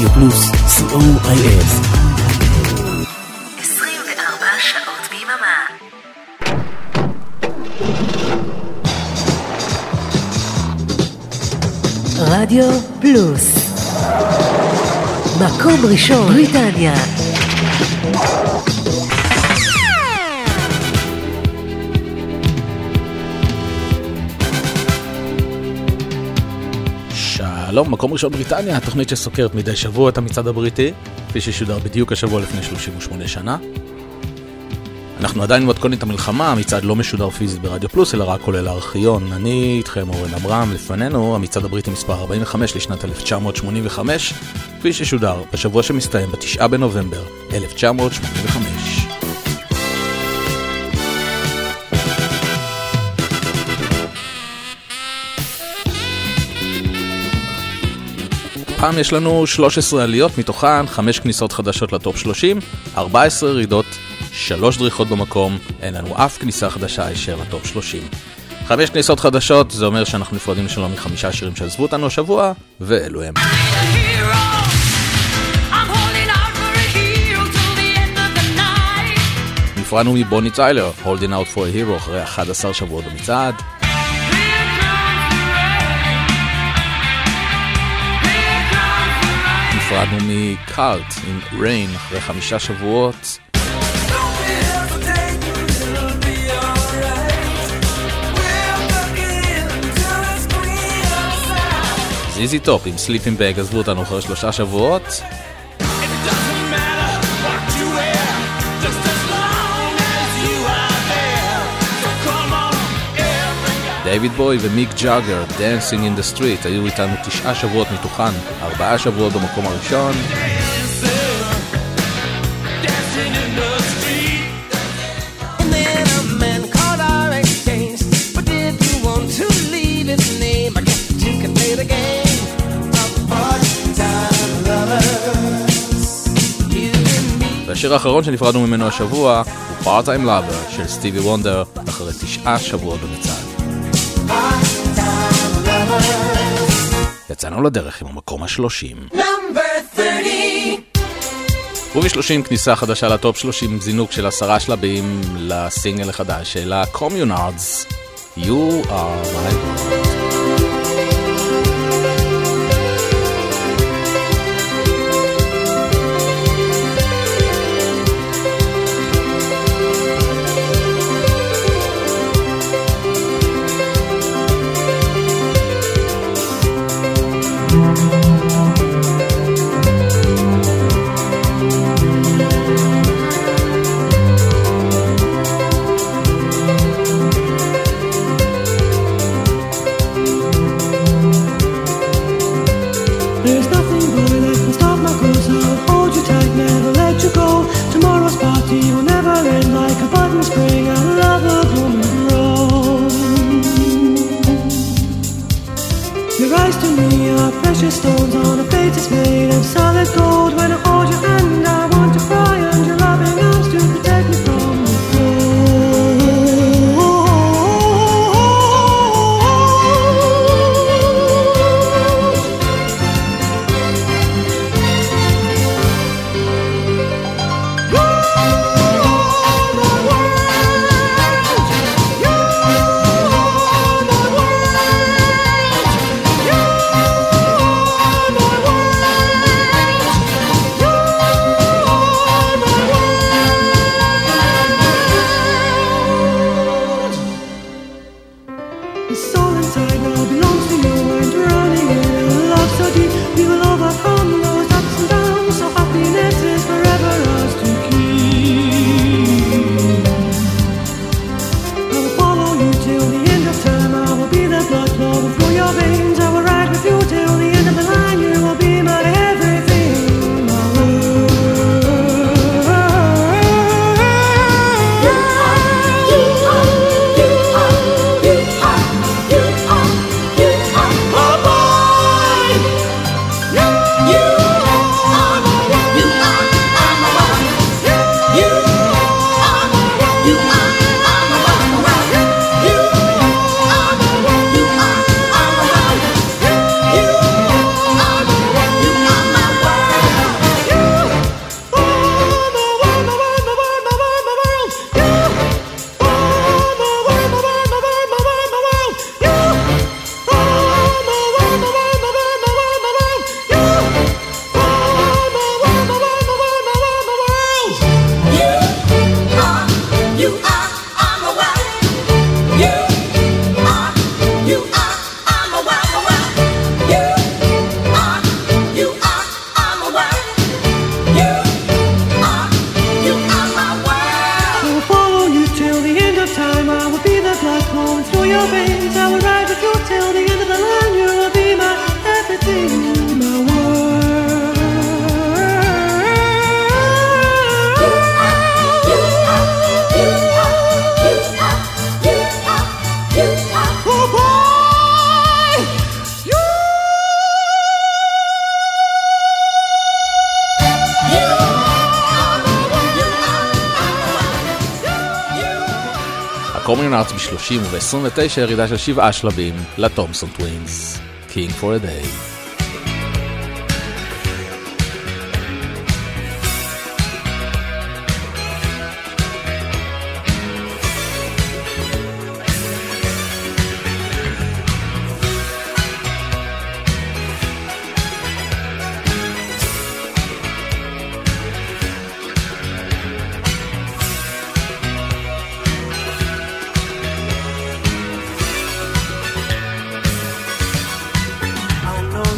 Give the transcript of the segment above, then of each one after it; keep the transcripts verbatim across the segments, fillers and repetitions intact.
רדיו פלוס, סי או איי אס. עשרים וארבע שעות ביממה. רדיו פלוס, מקום ראשון בריטניה. שלום, מקום ראשון בריטניה, התוכנית שסוקרת מדי שבוע את המצעד הבריטי, כפי ששודר בדיוק השבוע לפני שלושים ושמונה שנה. אנחנו עדיין מתכוננים את המלחמה, המצעד לא משודר פיזית ברדיו פלוס, אלא רק כולל הארכיון. אני איתכם אורן אברהם, לפנינו המצעד הבריטי מספר ארבעים וחמש לשנת אלף תשע מאות שמונים וחמש, כפי ששודר בשבוע שמסתיים בתשעה בנובמבר אלף תשע מאות שמונים וחמש. פעם יש לנו שלוש עשרה עליות, מתוכן חמש כניסות חדשות לטופ שלושים, ארבע עשרה ירידות, שלוש דריכות במקום, אין לנו אף כניסה חדשה הישר לטופ שלושים. חמש כניסות חדשות, זה אומר שאנחנו נפרדים שלום מחמישה שירים שעזבו אותנו השבוע, ואלו הם. נפרדנו מבוני טיילר, Holding Out for a Hero, אחרי אחד עשר שבועות במצעד. נפרדנו מקאלט עם ריין אחרי חמישה שבועות. זיזי טופ עם Sleeping Bag עזבו אותנו אחרי שלושה שבועות. דייוויד בוי ומיק ג'אגר, Dancing in the Street, היו איתנו תשעה שבועות מתוכן, ארבעה שבועות במקום הראשון. והשיר האחרון שנפרדנו ממנו השבוע הוא Part-Time Lover של סטיבי וונדר, אחרי תשעה שבועות במצעד. יצאנו לדרך עם המקום השלושים. וב-שלושים כניסה חדשה לטופ שלושים, זינוק של עשרה שלבים לסינגל החדש של ה-Communards, You Are My World. Stones on a plate that's made of solid gold. When I hold your hand, I want to cry, and your loving arms to protect me from the your veins. I will ride with you till the end of the line. You will be my everything, my world. You are, you are, you are, you are, you are, you are. Oh boy, you. הקורמיון ארץ ב-שלושים וב-עשרים ותשע ירידה של שבעה שלבים לטומסון טווינס, King for a Day. I know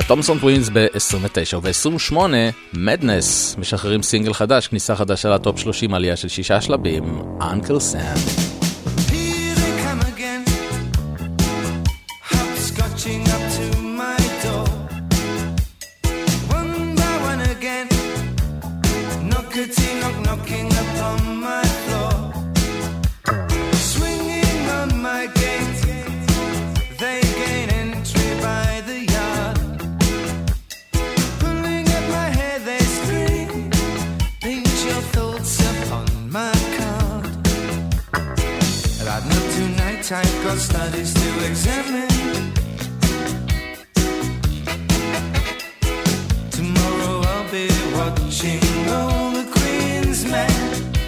תומסון טווינס ב-עשרים ותשע וב-עשרים ושמונה מדנס משחררים סינגל חדש, כניסה חדשה לטופ שלושים, עלייה של שישה שלבים, אנקל סם. I've got studies to examine. Tomorrow I'll be watching all the Queen's men.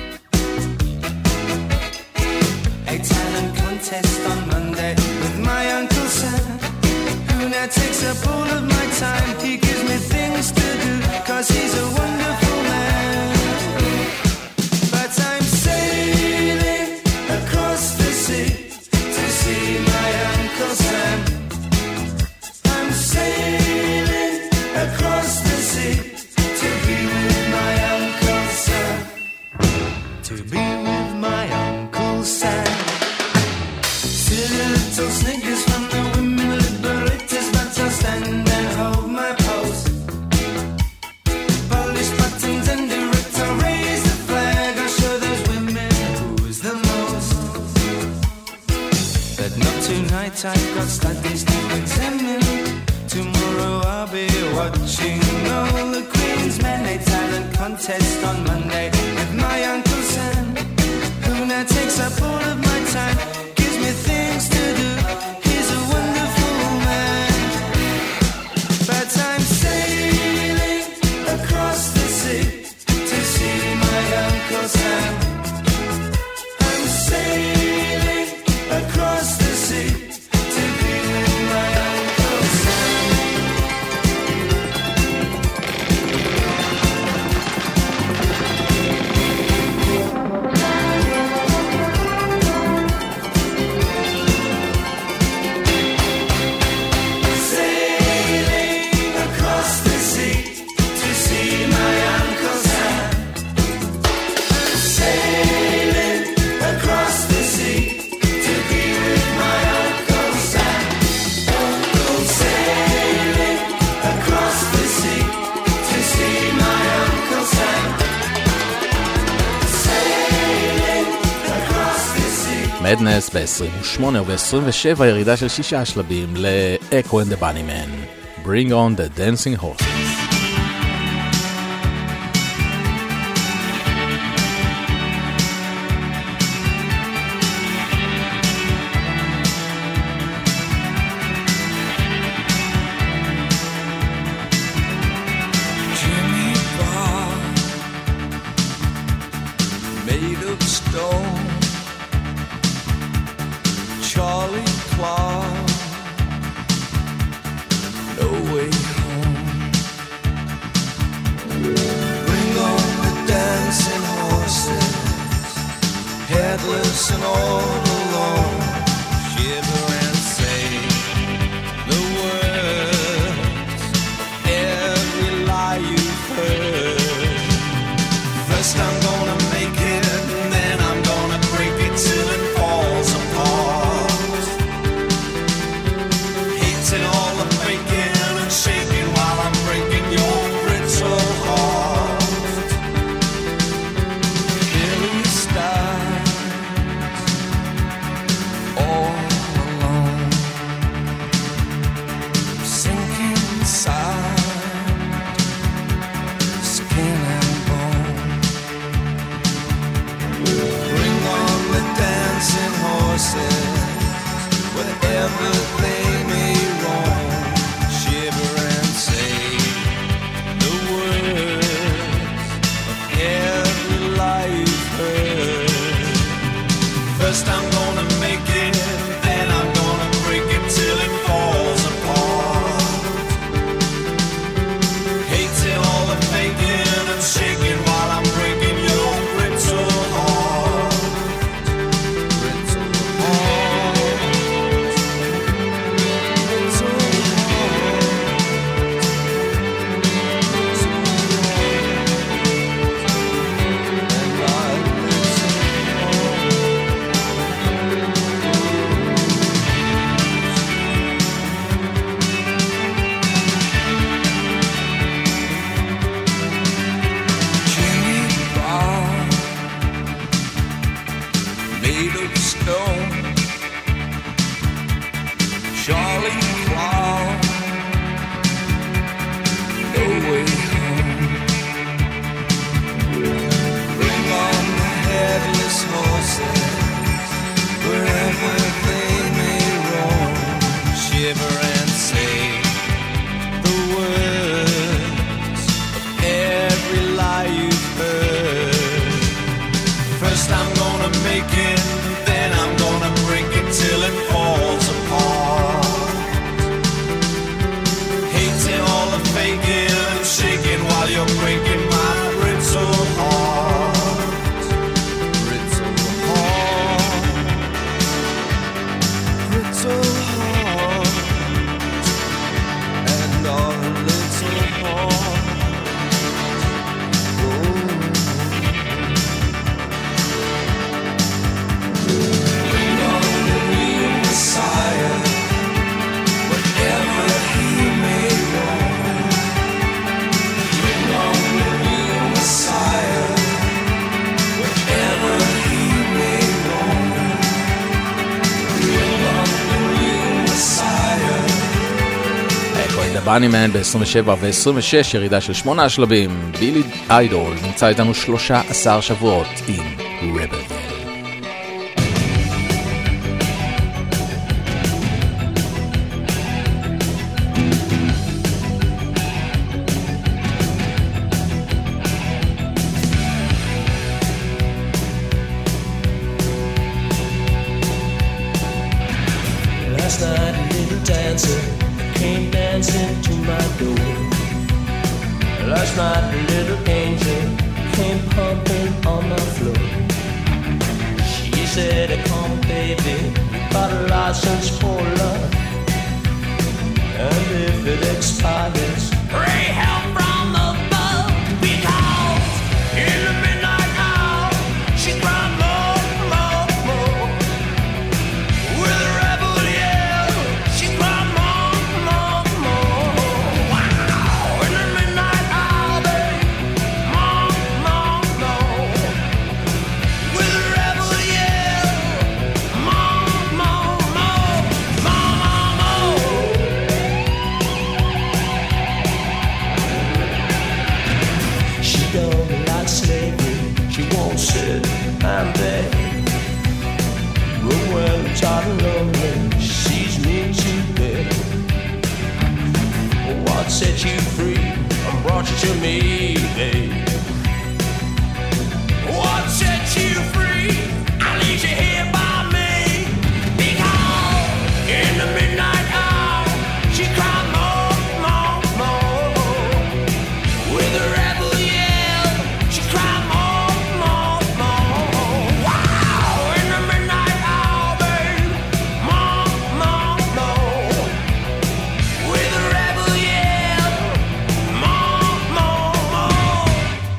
A talent contest on Monday with my Uncle Sam, who now takes up all of my time. He gives me things to do, cause he's a wonderful man. But I'm sailing across the sea to see my Uncle Sam. I'm sailing across the sea to be with my Uncle Sam. To be with my Uncle Sam. Silly little snickers from the women liberators, but I'll stand and hold my pose. Polish buttons and direct, I'll raise the flag. I'll show those women who's the most. But not tonight, I've got studies to examine. Tomorrow I'll be watching all the Queen's Men. A talent contest on Monday with my Uncle Sam, who now takes up all of my time, gives me things to do. He's a wonderful man. But I'm sailing across the sea to see my Uncle Sam. I'm sailing across the sea to be with my Uncle Sam. Sailing across the sea to see my Uncle Sam. Sailing across the sea to be with my Uncle Sam. Uncle sailing across the sea to see my Uncle Sam. Sailing across the sea. מדנס ב-עשרים ושמונה וב-עשרים ושבע ירידה של שישה שלבים ל-Echo and the Bunnymen. Bring on the dancing horses. Jimmy Bob, made of stone. Charlie Clark, no way home. Bring on the dancing horses, headless and all alone. Shiver and say the words, every lie you've heard. First I'm gonna make it, and then I'm gonna break it till it falls apart. Hating all the faking and shaking while I'm breaking your brittle heart. Billy Stars, ראני מן ב-עשרים ושבע ו-עשרים ושש, ירידה של שמונה שלבים. בילי איידול נמצא איתנו שלושה עשר שבועות עם רבל. Last night a little dancer came dancing to my door. Last night a little angel came pumping on my floor. She said, come baby, you got a license for love, and if it expires, pray help from above, because in the midnight hour she cried more, more, more. With a rebel yell, she cried more, more, more. Wow! In the midnight hour, babe, more, more, more. With a rebel yell, more, more, more, more, more. She don't like slavery, she won't sit and beg. But when I'm tired and lonely, she sees me too big. What set you free and brought you to me, babe? What set you free and leaves you here by me? Because in the midnight hour, she cried more, more, more. With a rebel yell, she cried more, more, more. Wow! In the midnight hour, babe, more, more, more. With a rebel yell, more, more, more.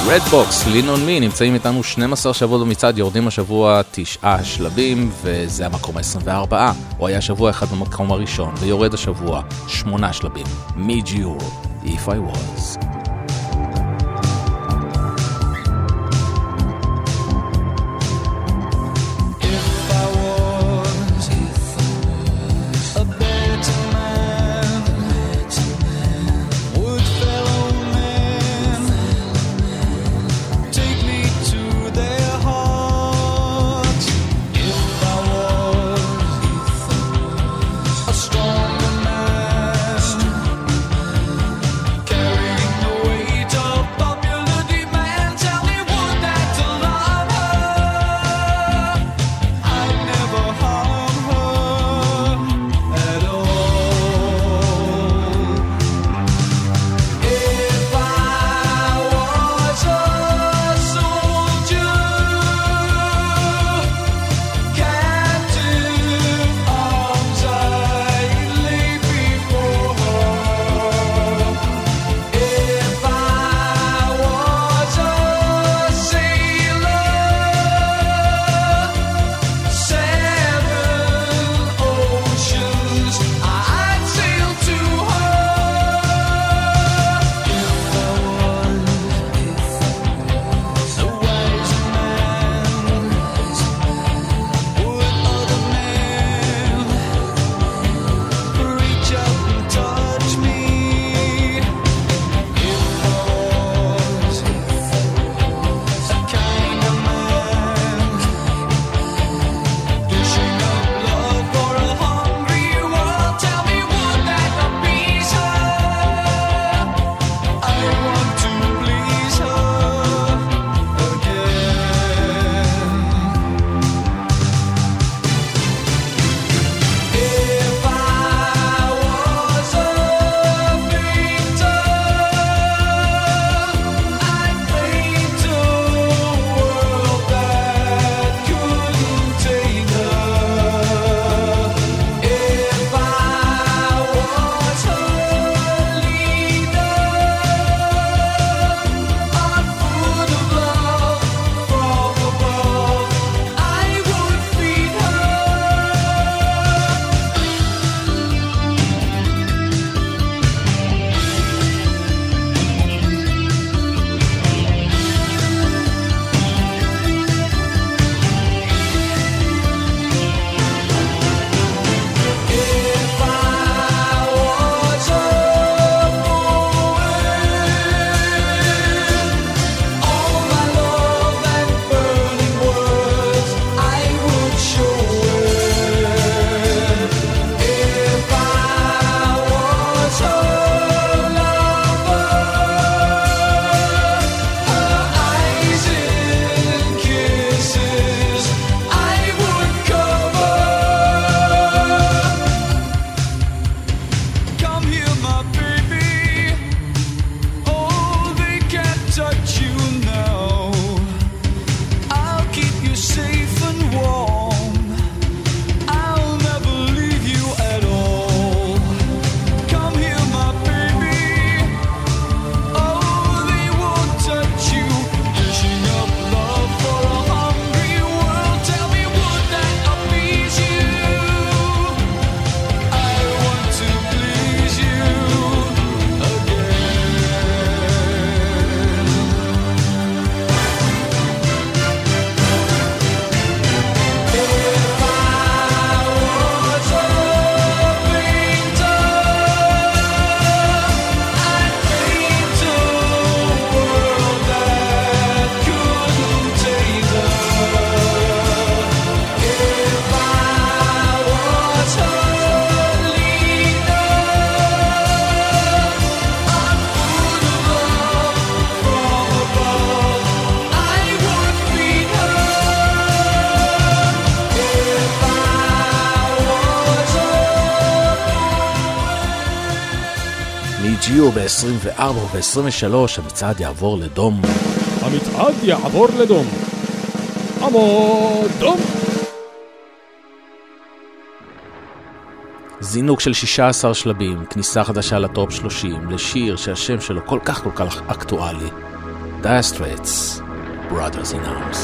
רדבוקס, Lean on Me, נמצאים איתנו שנים עשר שבועות במצעד, יורדים השבוע תשעה שלבים, וזה המקום ה-עשרים וארבע. הוא היה שבוע אחד במקום הראשון, ויורד השבוע שמונה שלבים. מג'יור, If I Was. ג'יו ב-עשרים וארבע וב-עשרים ושלוש המצעד יעבור לדום. המצעד יעבור לדום. עמוד דום. זינוק של שישה עשר שלבים, כניסה חדשה לטופ שלושים, לשיר שהשם שלו כל כך כל כך אקטואלי. Dire Straits, Brothers in Arms.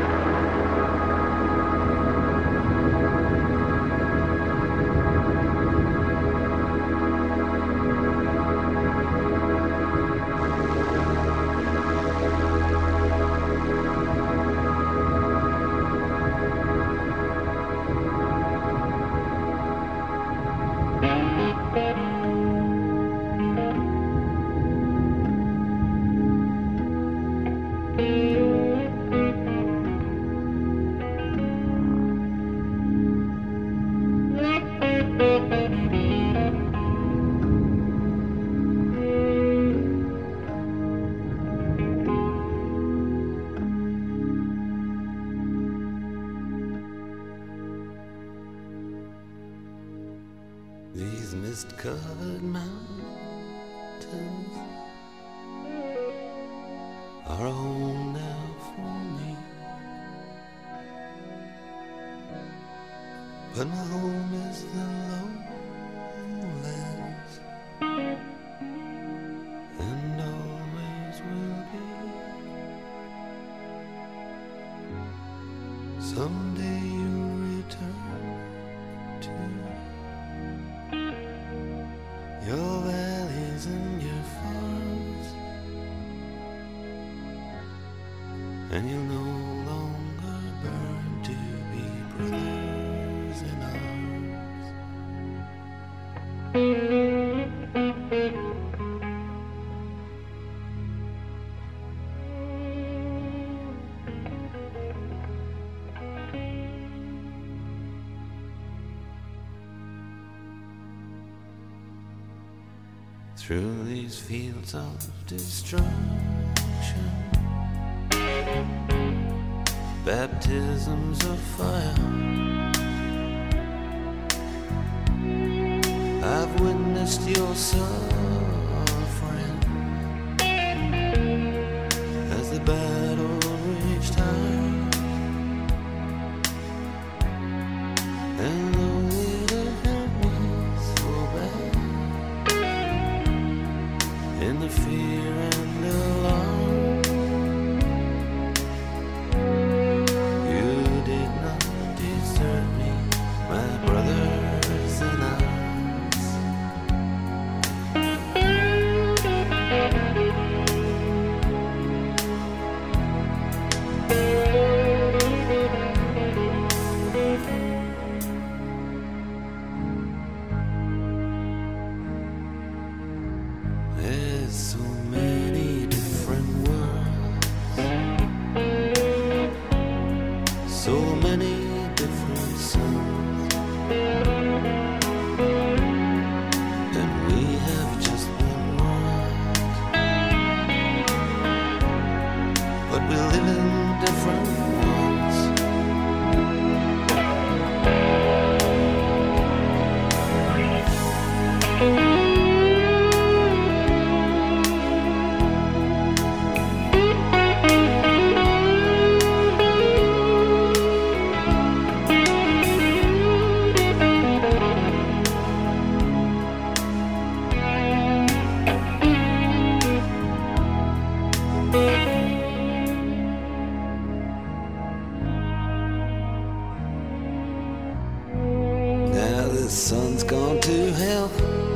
These mist-covered mountains are a home now for me, but my home is the lowlands, and always will be. Someday you'll return to your valleys and your farms, and you'll no longer burn to be brothers in arms. Through these fields of destruction, baptisms of fire, I've witnessed your suffering as the battle reached high, and though it was so bad, in the fear and alarm, you did not desert me, my brothers in arms. There's so many different worlds, so many different suns, and we have just one world, but we live in different ones. Now the sun's gone to hell,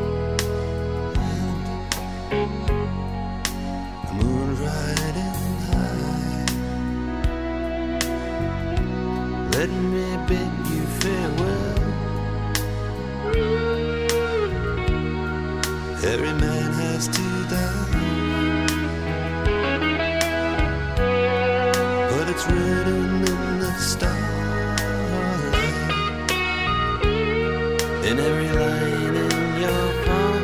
the moon's riding high. Let me bid you farewell. Every man has to die, but it's written in the starlight, in every line in your palm.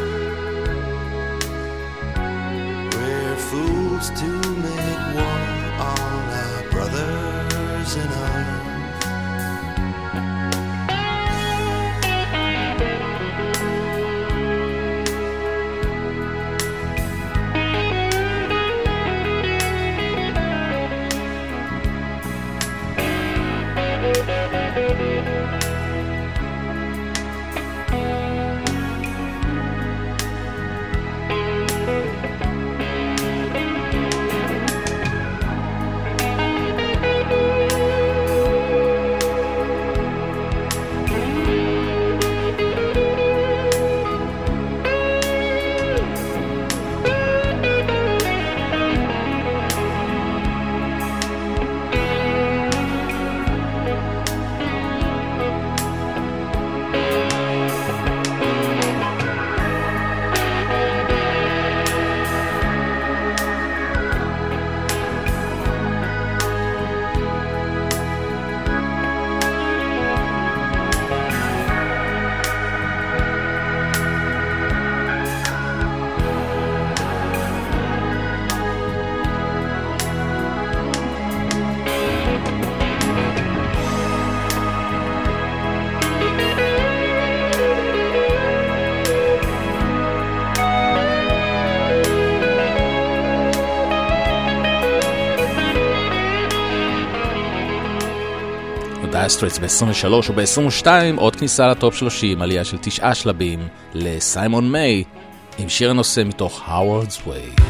We're fools to make war on our brothers in arms. דייר סטרייטס ב-עשרים ושלוש וב-עשרים ושתיים עוד כניסה לטופ שלושים, עלייה של תשעה שלבים לסיימון מיי עם שיר הנושא מתוך Howard's Way.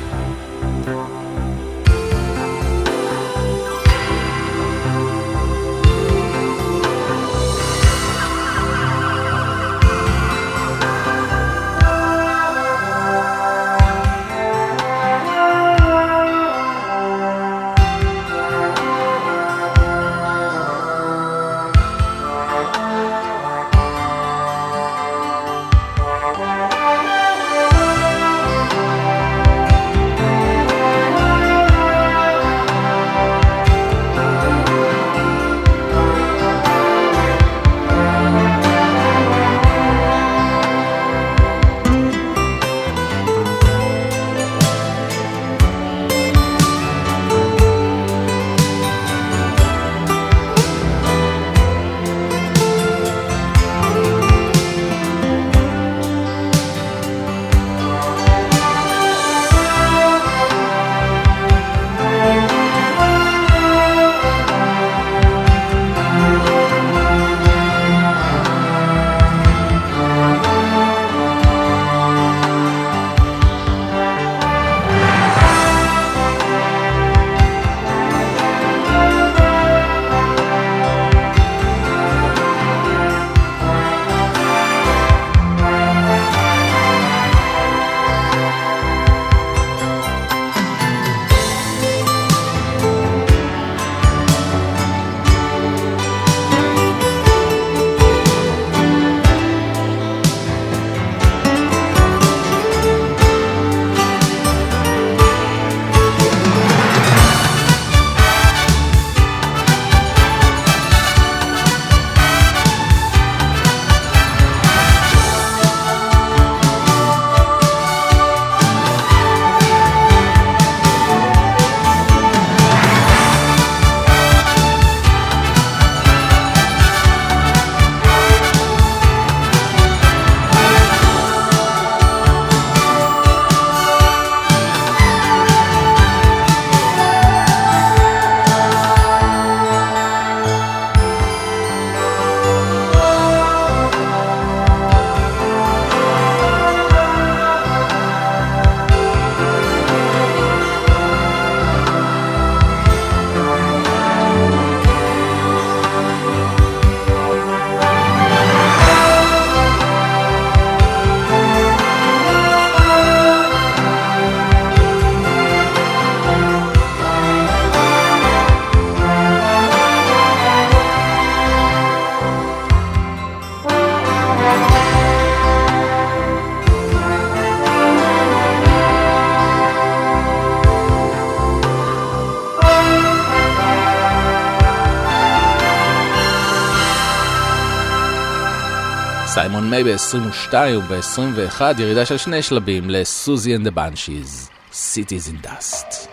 סיימון מיי ב-עשרים ושתיים וב-עשרים ואחת ירידה של שני שלבים לסוזי and the Banshees, Cities in Dust.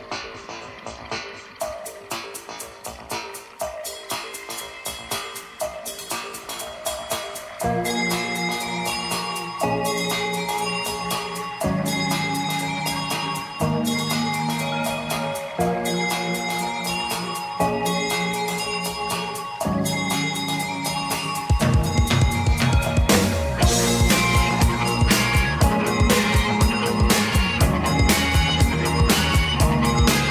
Thank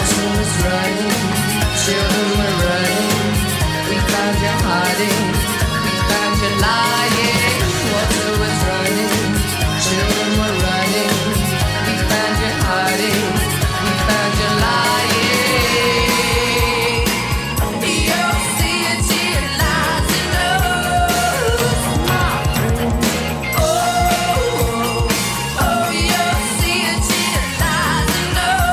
Water was running, children were running. We found you hiding, we found you lying. Water was running, children were running. We found you hiding, we found you lying. You'll see it till your lies in us, my friend. Oh, oh, oh, you'll see it till your lies in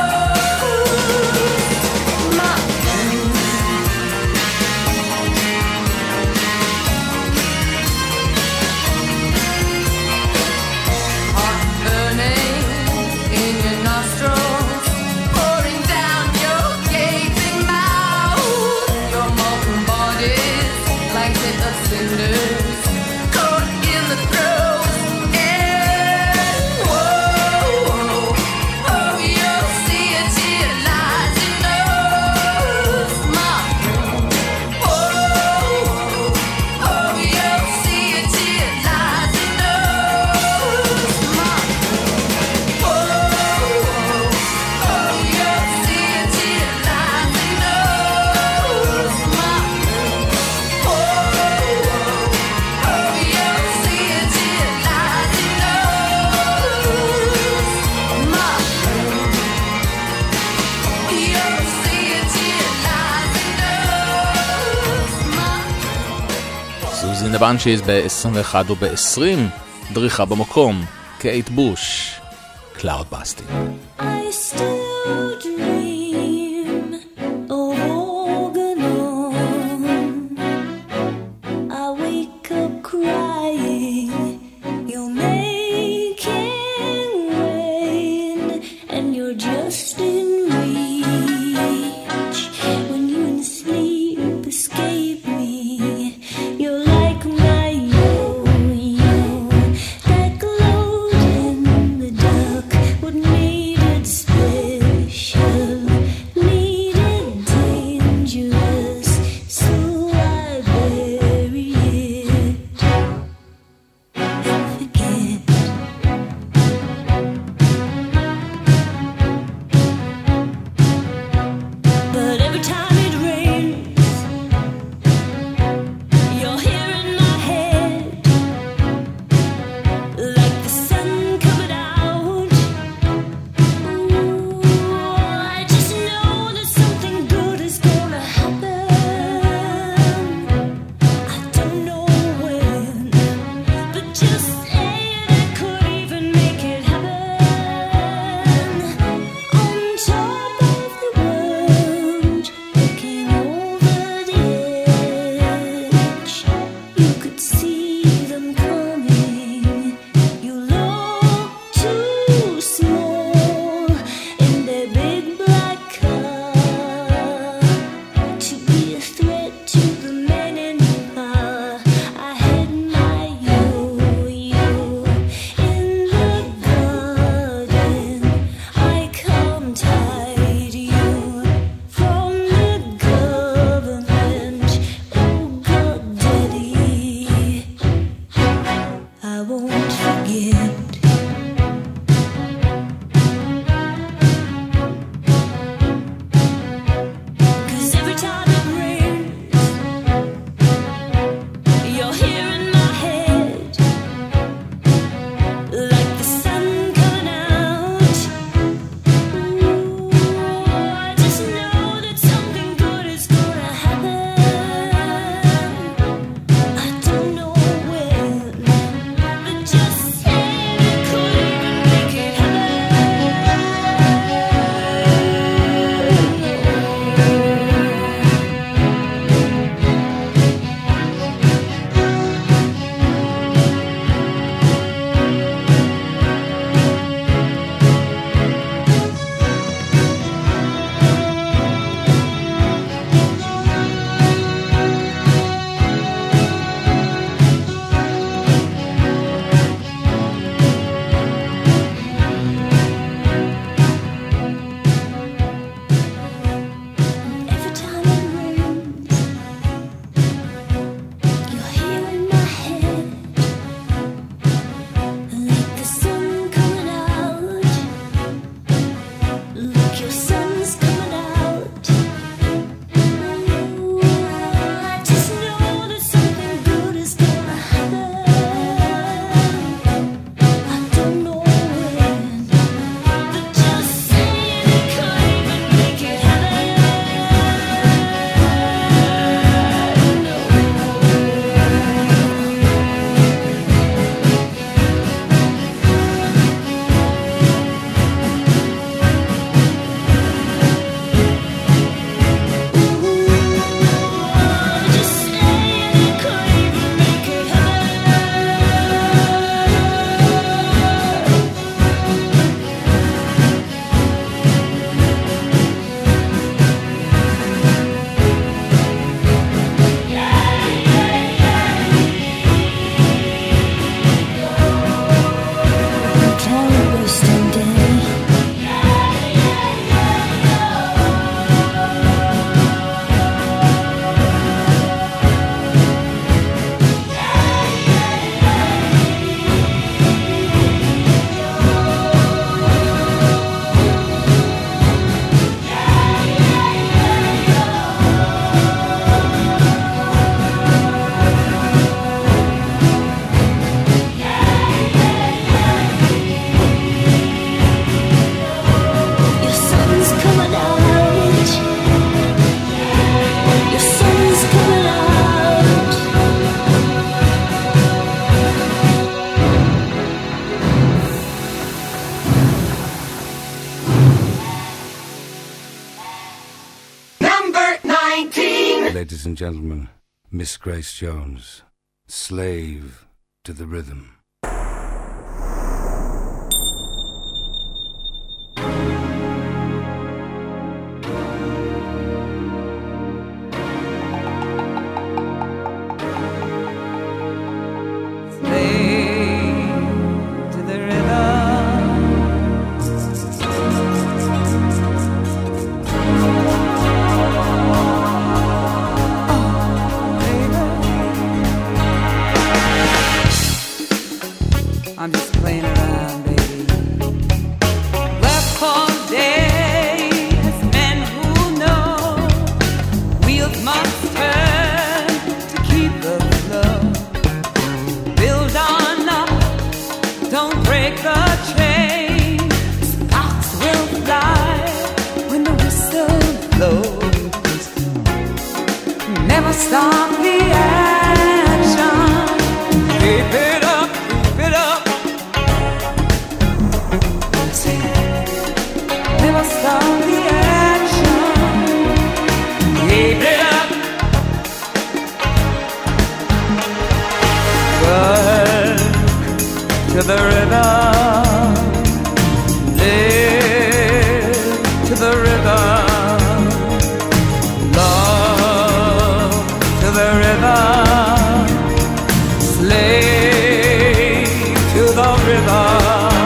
us, my friend. Hot burning in your nostrils, pouring down your gaping mouth. Your molten body's like bit of cinders caught in the throes. And whoa, oh, you'll see it till your lies in us, my friend. Whoa, oh, you'll see it till your lies in us, my friend. Whoa, oh, you'll see it till your lies in us, my friend. Whoa, oh, you'll see it till your lies in us, my friend. You'll see it till your lies in us, my סוזי נבנצ'יז ב-עשרים ואחת וב-עשרים, דריכה במקום, קייט בוש, קלאוד בסטינג. I still dream of Organon. I wake up crying, you're making rain, and you're just in reach. When you in sleep escape me, you're like my yo-yo that glowed in the dark. What made it special, needed dangerous, so I bury it and forget. ladies and gentlemen, Miss Grace Jones, Slave to the Rhythm. I'm just playing around, baby. Work for days, men who know wheels must turn to keep the flow. Build on up, don't break the chain. Sparks will fly when the whistle blows. Never stop the action. Keep it up, keep it up. Never stop the action. Keep it up. Work to the rhythm. Live to the rhythm. Love to the rhythm. Slave to the rhythm.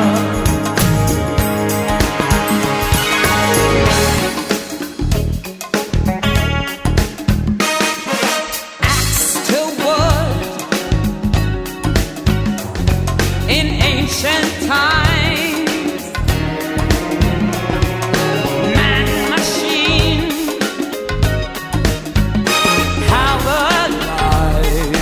Times, man, machine, powered life,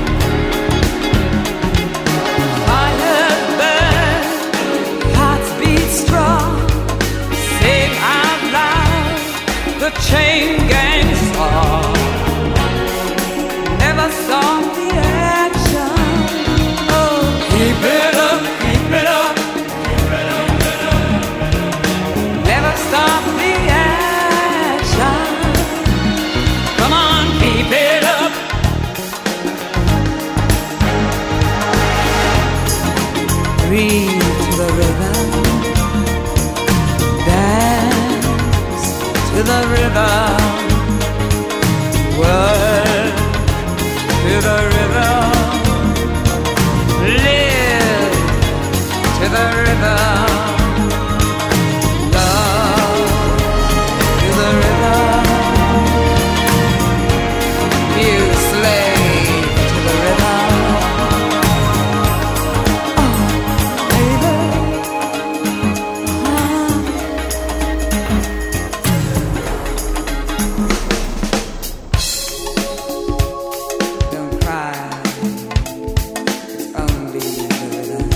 fire burn, hearts beat strong, sing out loud, the chain gang song, never stop the action, oh, keep it up. Keep it up. Never stop the action. Come on, keep it up. Breathe to the rhythm. Dance to the rhythm. Work to the rhythm. Live to the rhythm, love to the rhythm, you slave to the rhythm. Oh, baby, uh-huh. Don't cry, it's only the rhythm.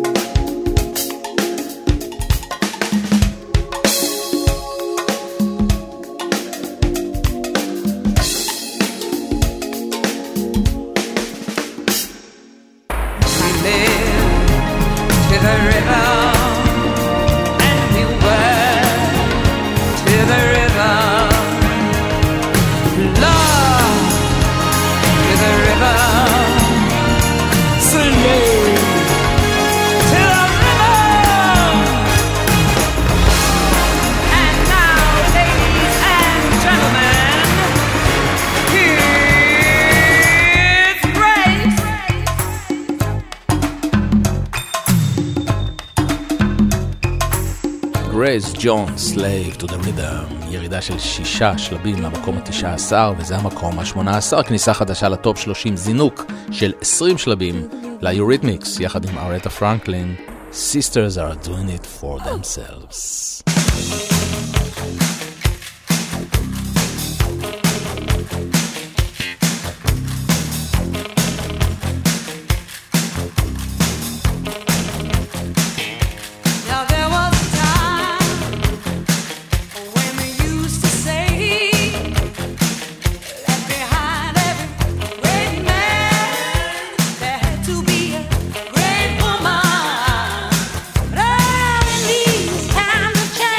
Grace Jones, Slave to the Rhythm, ירידה של שישה שלבים למקום ה-תשע עשרה, וזה המקום ה-שמונה עשר, כניסה חדשה לטופ שלושים, זינוק של עשרים שלבים ל-Eurythmics, יחד עם ארתה פרנקלין, Sisters are doing it for themselves. Times have changed.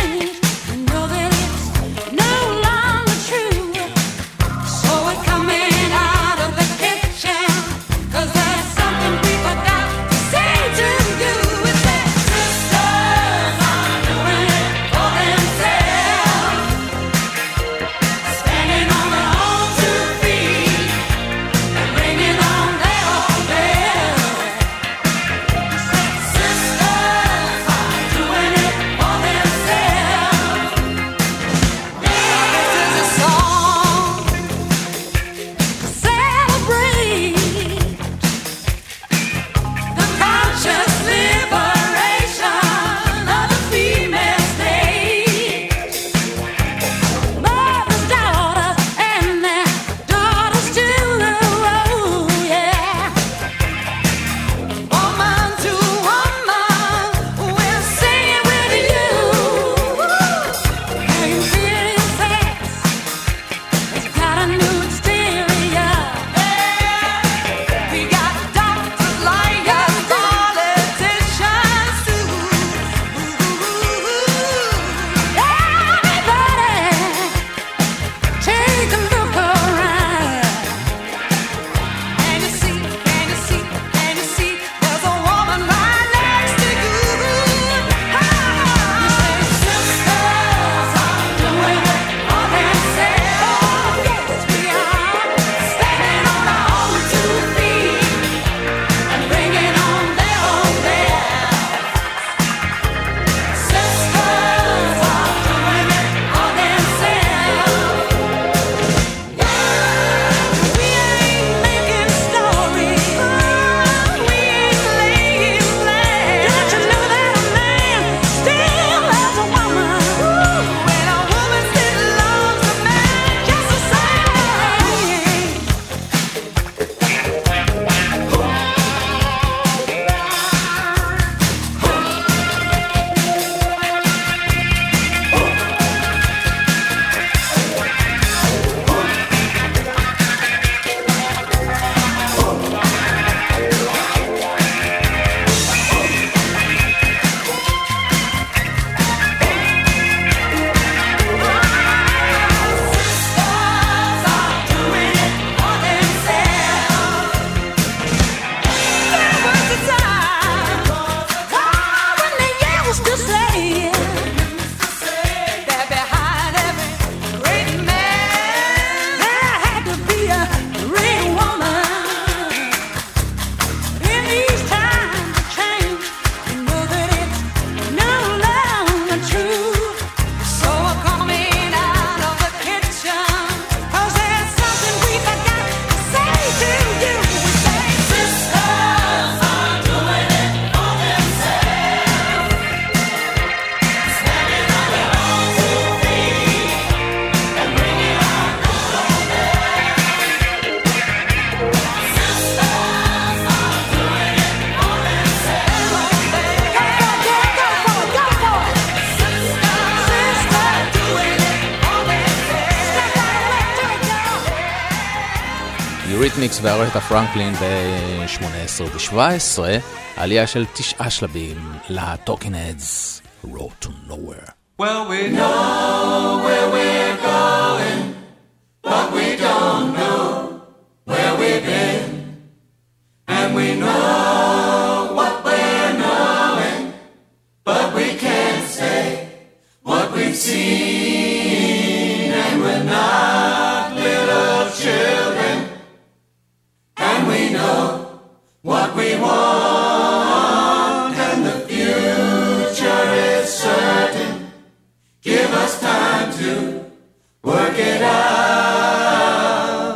יוריתמיקס וארתה פרנקלין ב-שמונה עשרה וב-שבע עשרה, עלייה של תשעה שלבים ל-Talking Heads, Road to Nowhere. Well, we know where we're going, but we don't know where we've been. And we know what we're knowing, but we can't say what we've seen. And we're not little children, and we know what we want, and the future is certain. Give us time to work it out.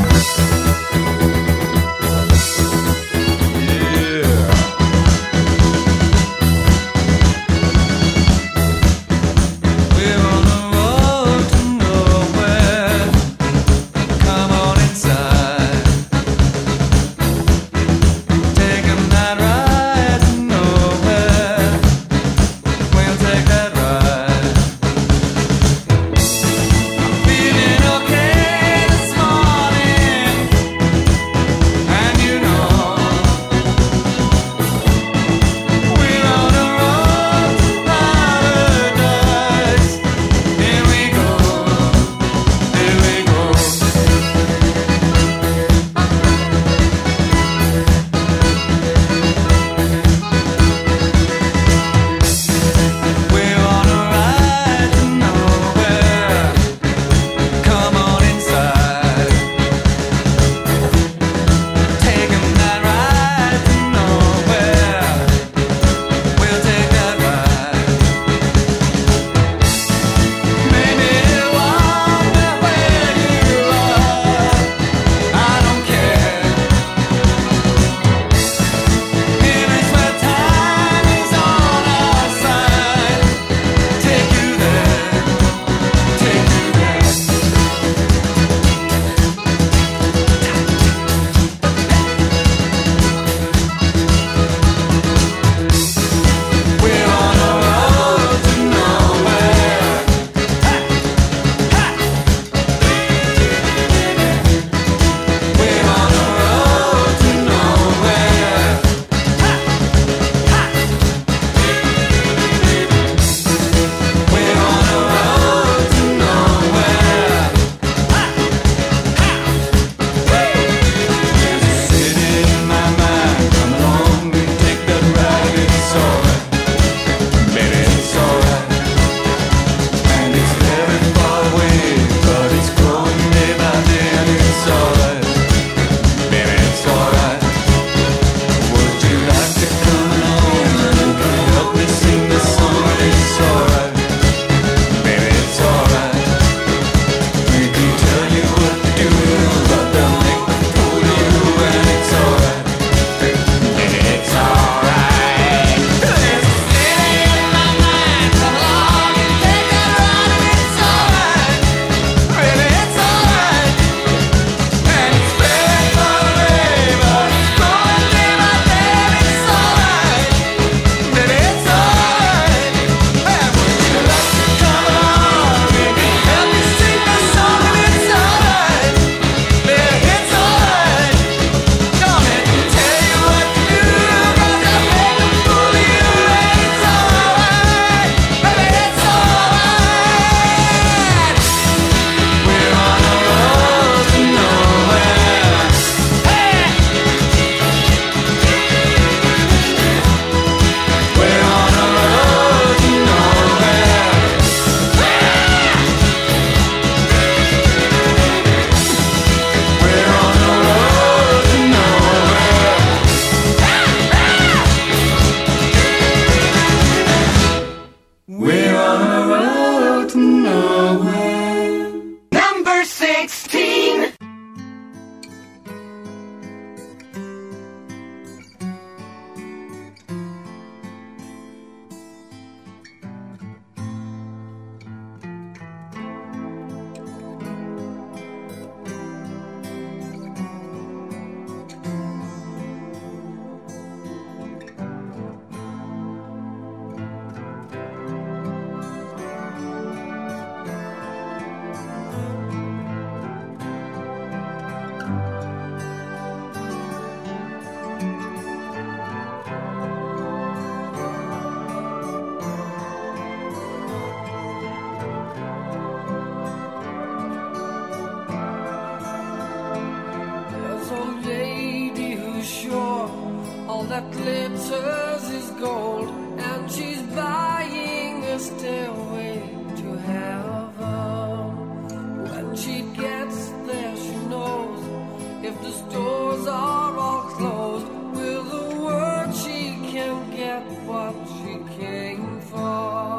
Yeah. We're on the road to nowhere. Come on inside. Taking that ride to nowhere. We'll take that ride. that glitters is gold, and she's buying a stairway to heaven. When she gets there, she knows if the stores are all closed, with a word she can get what she came for.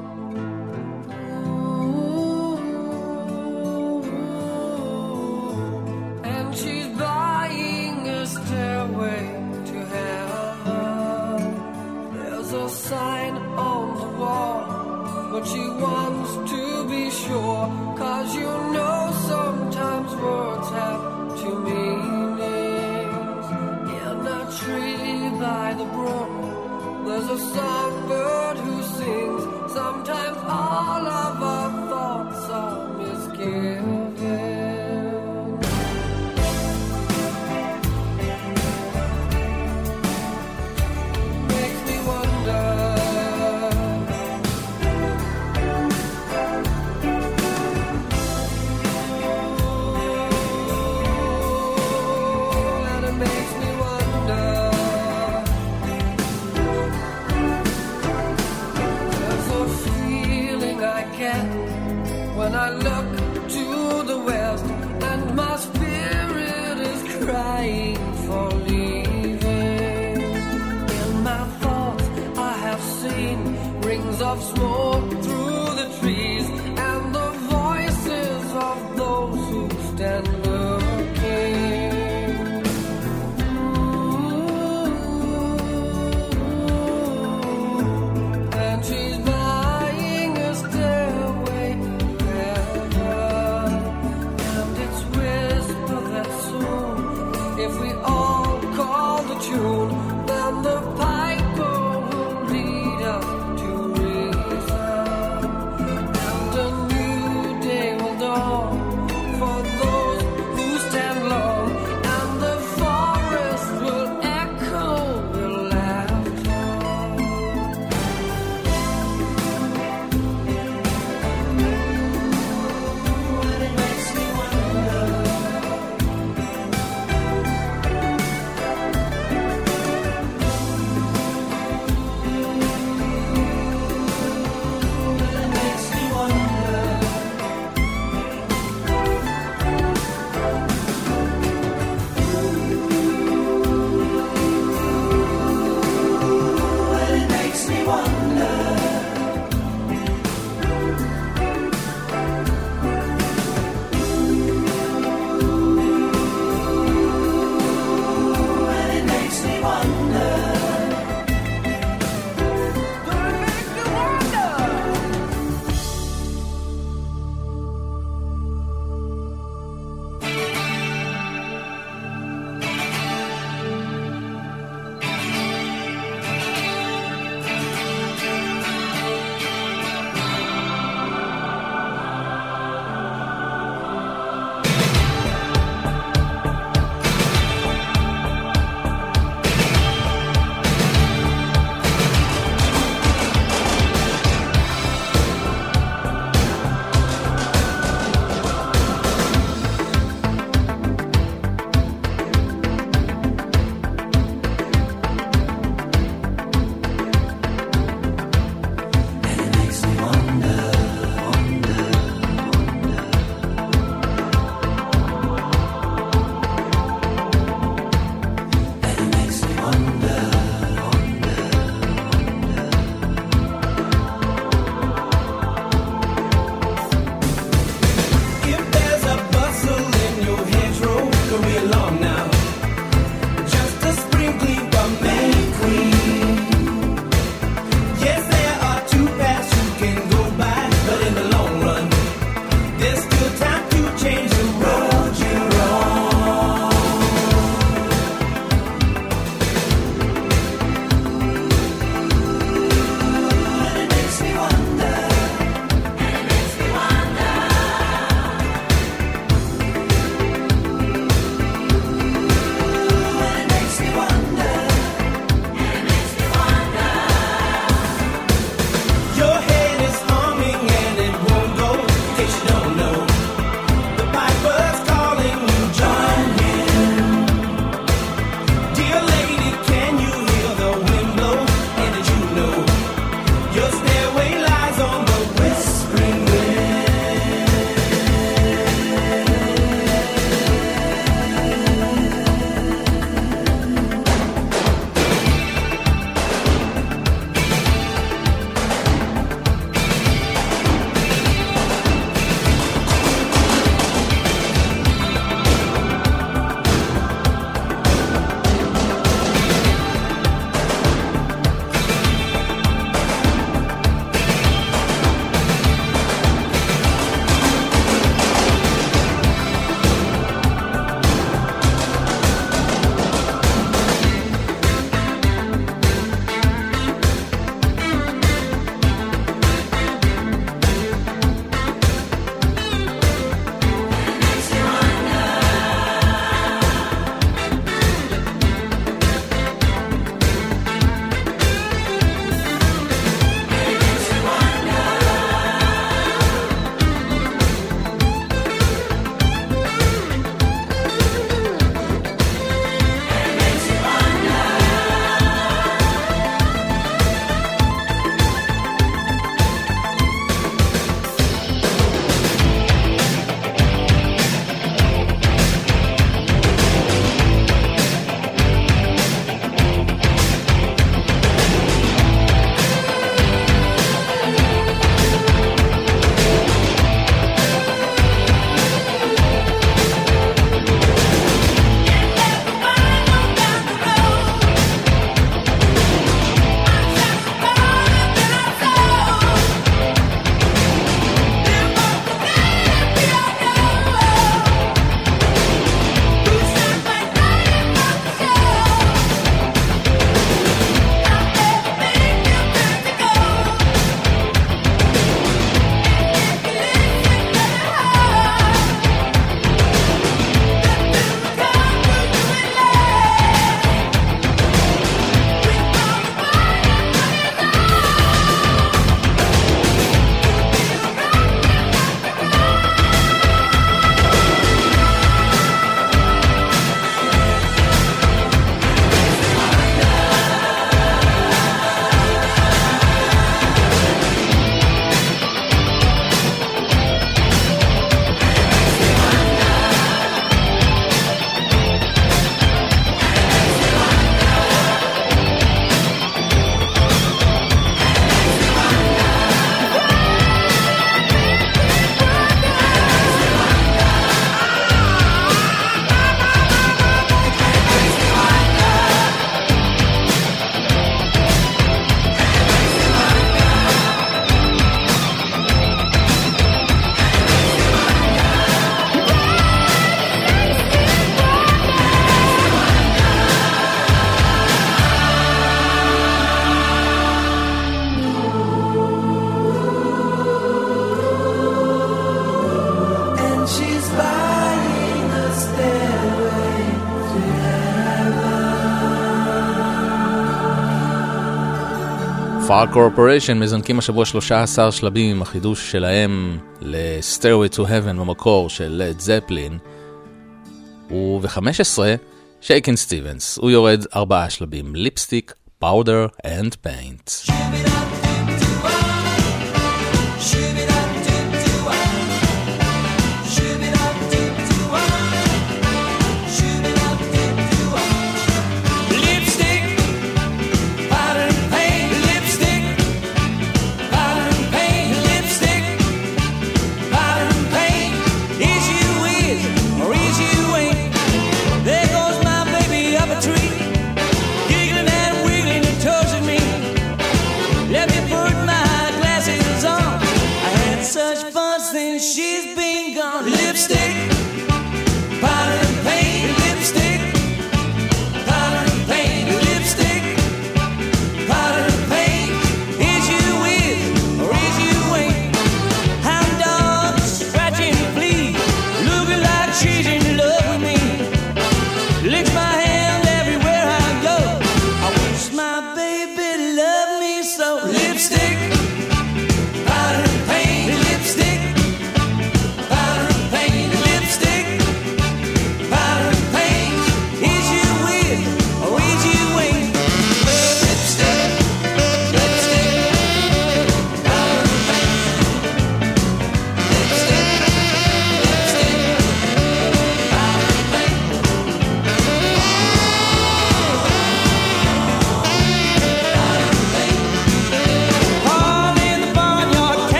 And she's buying a stairway to heaven. There's a sign on the wall, but she wants to be sure, 'cause you know sometimes words have two meanings. In a tree by the brook, there's a songbird who sings. Sometimes all of our thoughts are misgiven. Makes me wonder. When I look to the west and my spirit is crying for leaving. In my thoughts I have seen rings of smoke through the trees and the voices of those who stand looking. Ooh, and she's buying a stairway. If we all call the tune, then the piper will lead us to reason. Far Corporation מזנקים השבוע שלושה עשר שלבים עם החידוש שלהם ל-Stairway to Heaven במקור של Led Zeppelin, וב-חמש עשרה שייקן סטיבנס, הוא יורד ארבעה שלבים, ליפסטיק, פאודר and paint.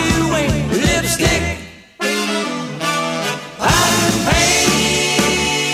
Lipstick, powder and paint.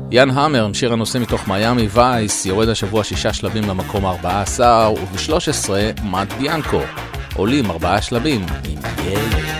יאן המר, שיר הנושא מתוך מיאמי וייס, יורד השבוע שישה שלבים למקום ארבעה עשר, וב-שלוש עשרה מאד ביאנקו, עולים ארבעה שלבים עם ילד.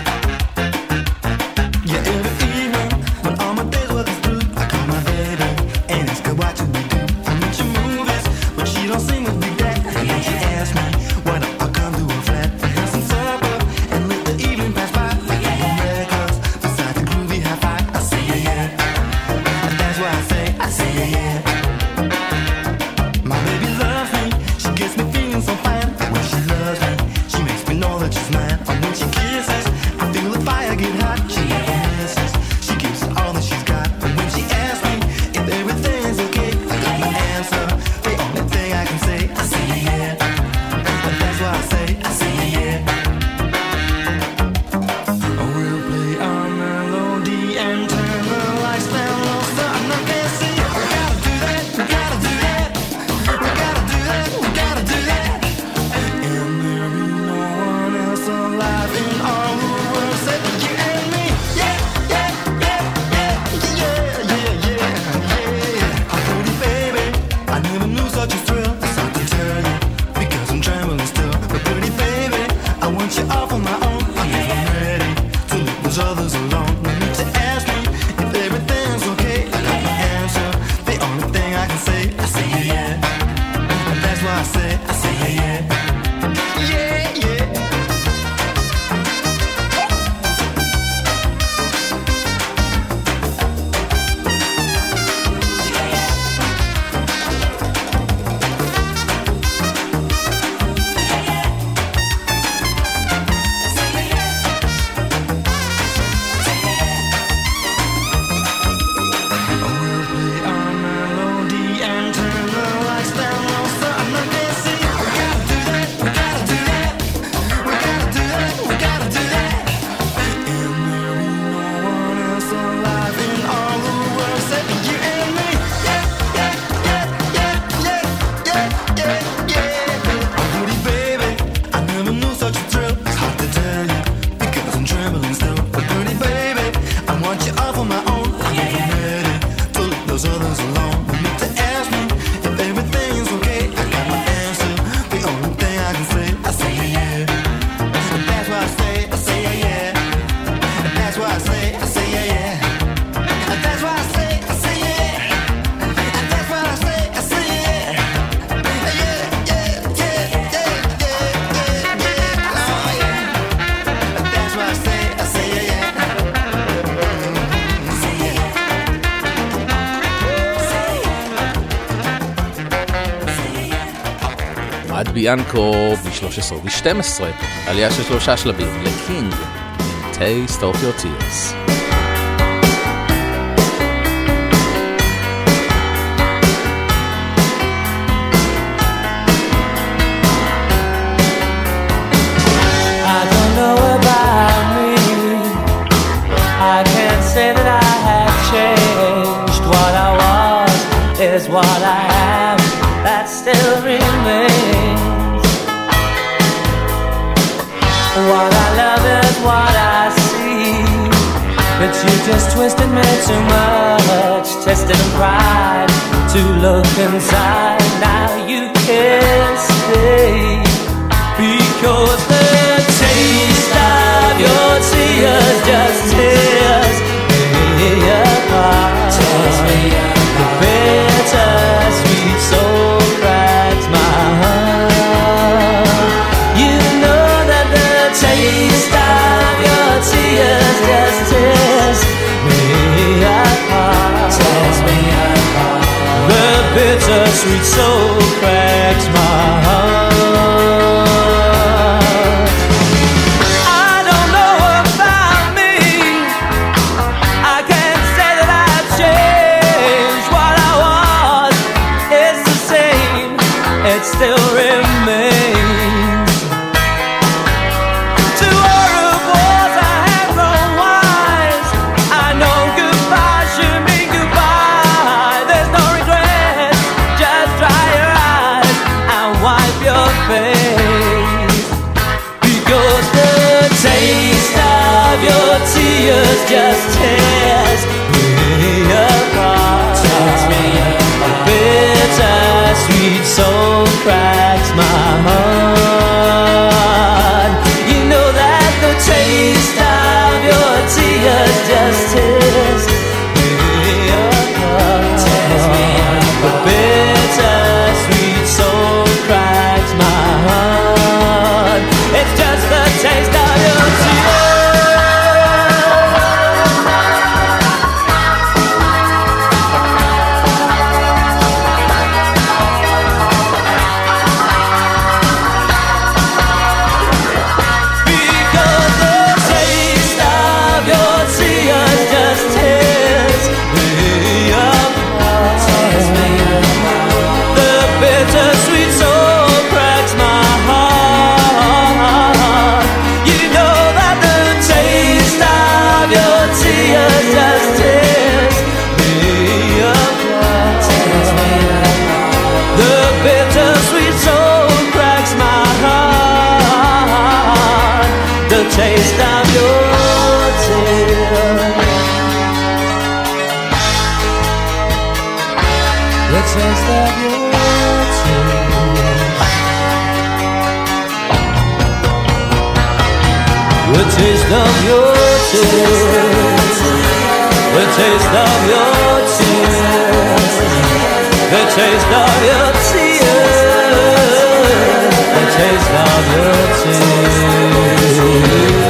ביאנקו ב-שלוש עשרה וב-שתים עשרה, עלייה של שלושה שלבים לקינג עם Taste of Your Tears. I don't know about me, I can't say that I have changed. What I was is what I am, that still remains. What I love is what I see, but you just twisted me too much, tested and cried to look inside. Now you can't stay, because the taste of your tears just tears me apart. Tears me apart. The bitter sweet soul cracks my heart. You know that the taste of your tears just tears me apart. Tears me apart. The bitter sweet soul cracks my heart. It still remains. To all of wars I have grown wise. I know goodbye should mean goodbye. There's no regret, just dry your eyes and wipe your face, because the taste of your tears just tears me apart. taste of your tears. The taste of your tears. The taste of your tears. The taste of your tears. The taste of your tears.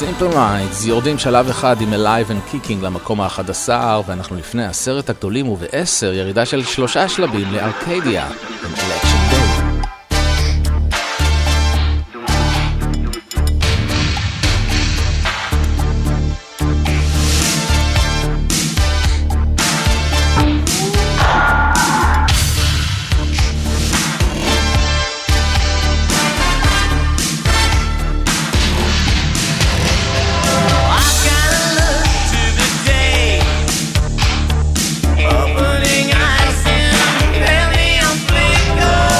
Simple Minds יורדים שלב אחד עם Alive and Kicking למקום ה-אחד עשר, ואנחנו לפני עשרת הגדולים ובעשר ירידה של שלושה שלבים לארקדיה עם Election Day. Opening eyes and barely on flicker.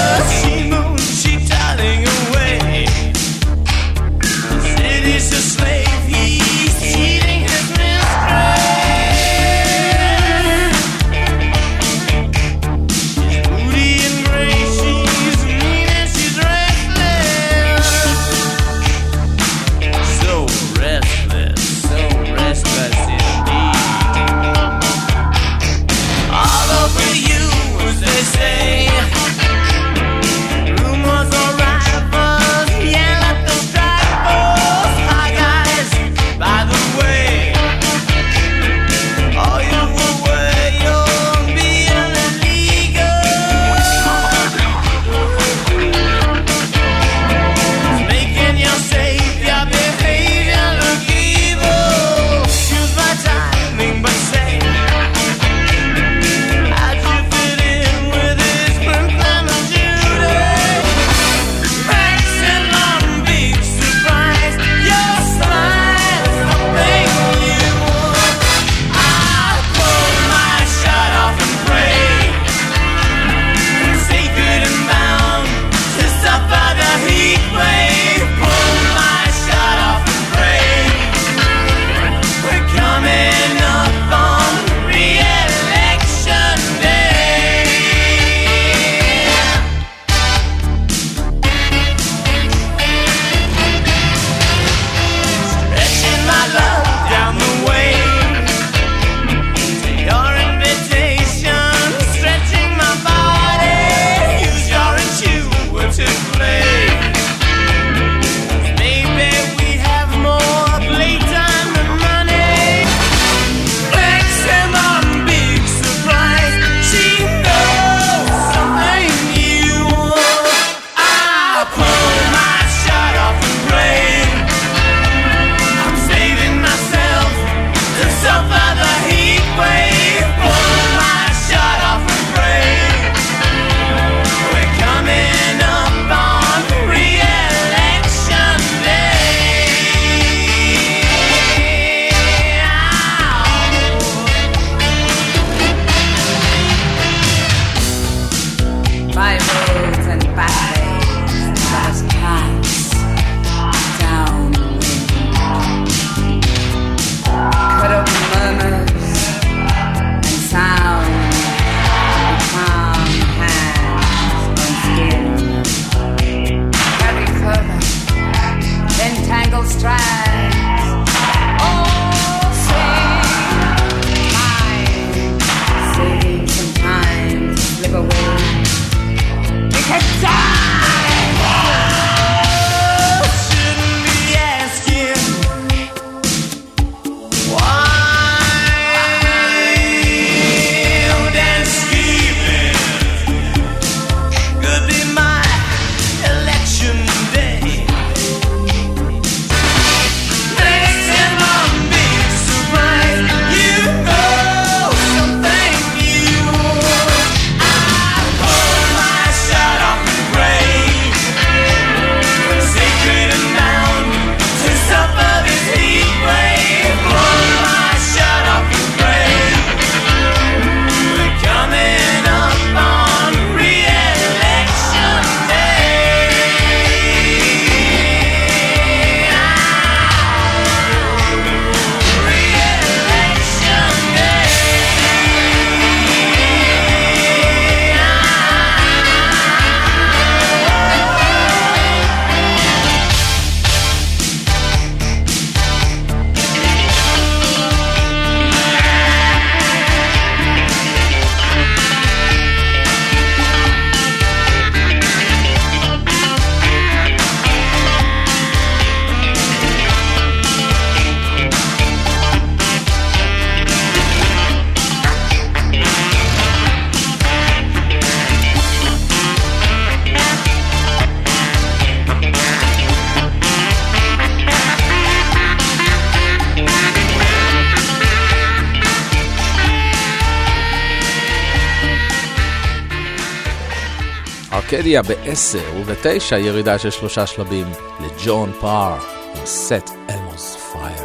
ארקדיה בעשר ובתשע ירידה של שלושה שלבים לג'ון פאר עם Set Elmo's Fire.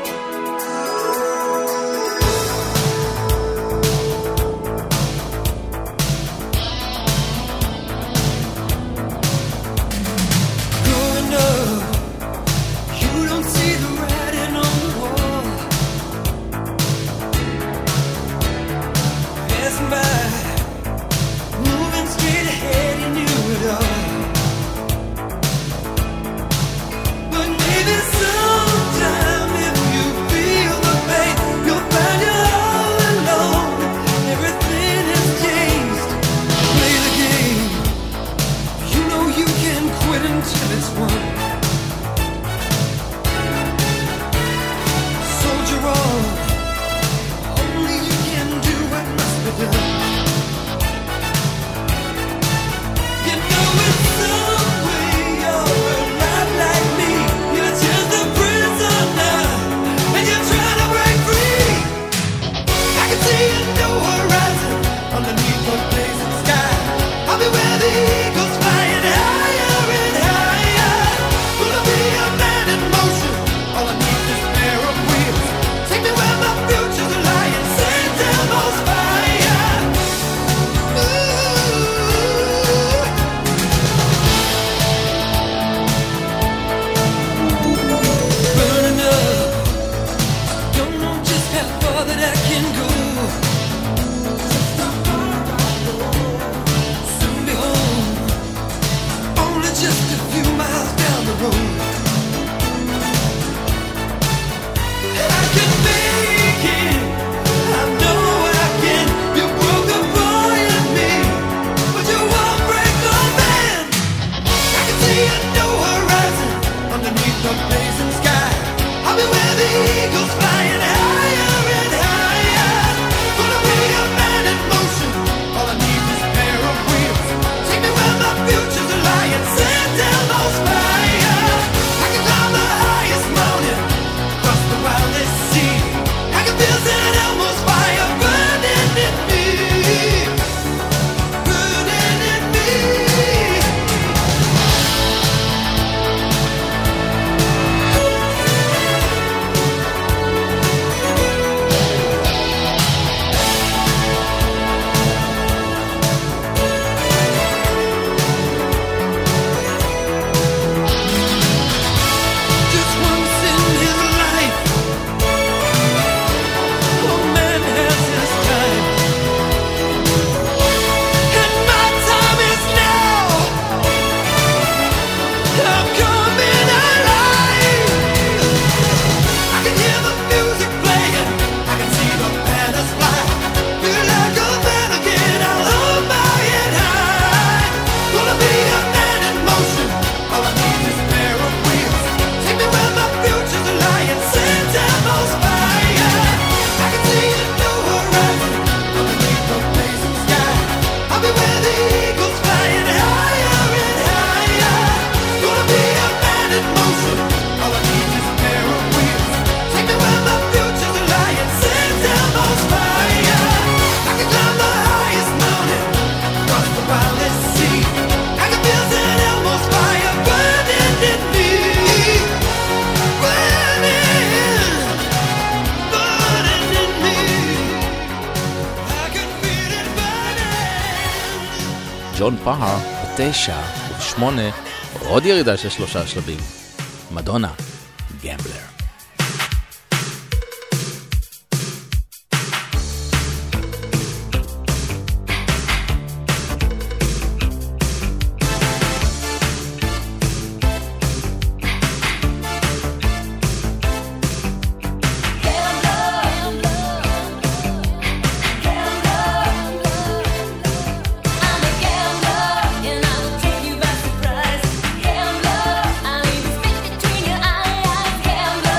ג'ון פאר בתשע ובשמונה עוד ירידה של שלושה שלבים מדונה גמבלר. Between your eyes, gambler.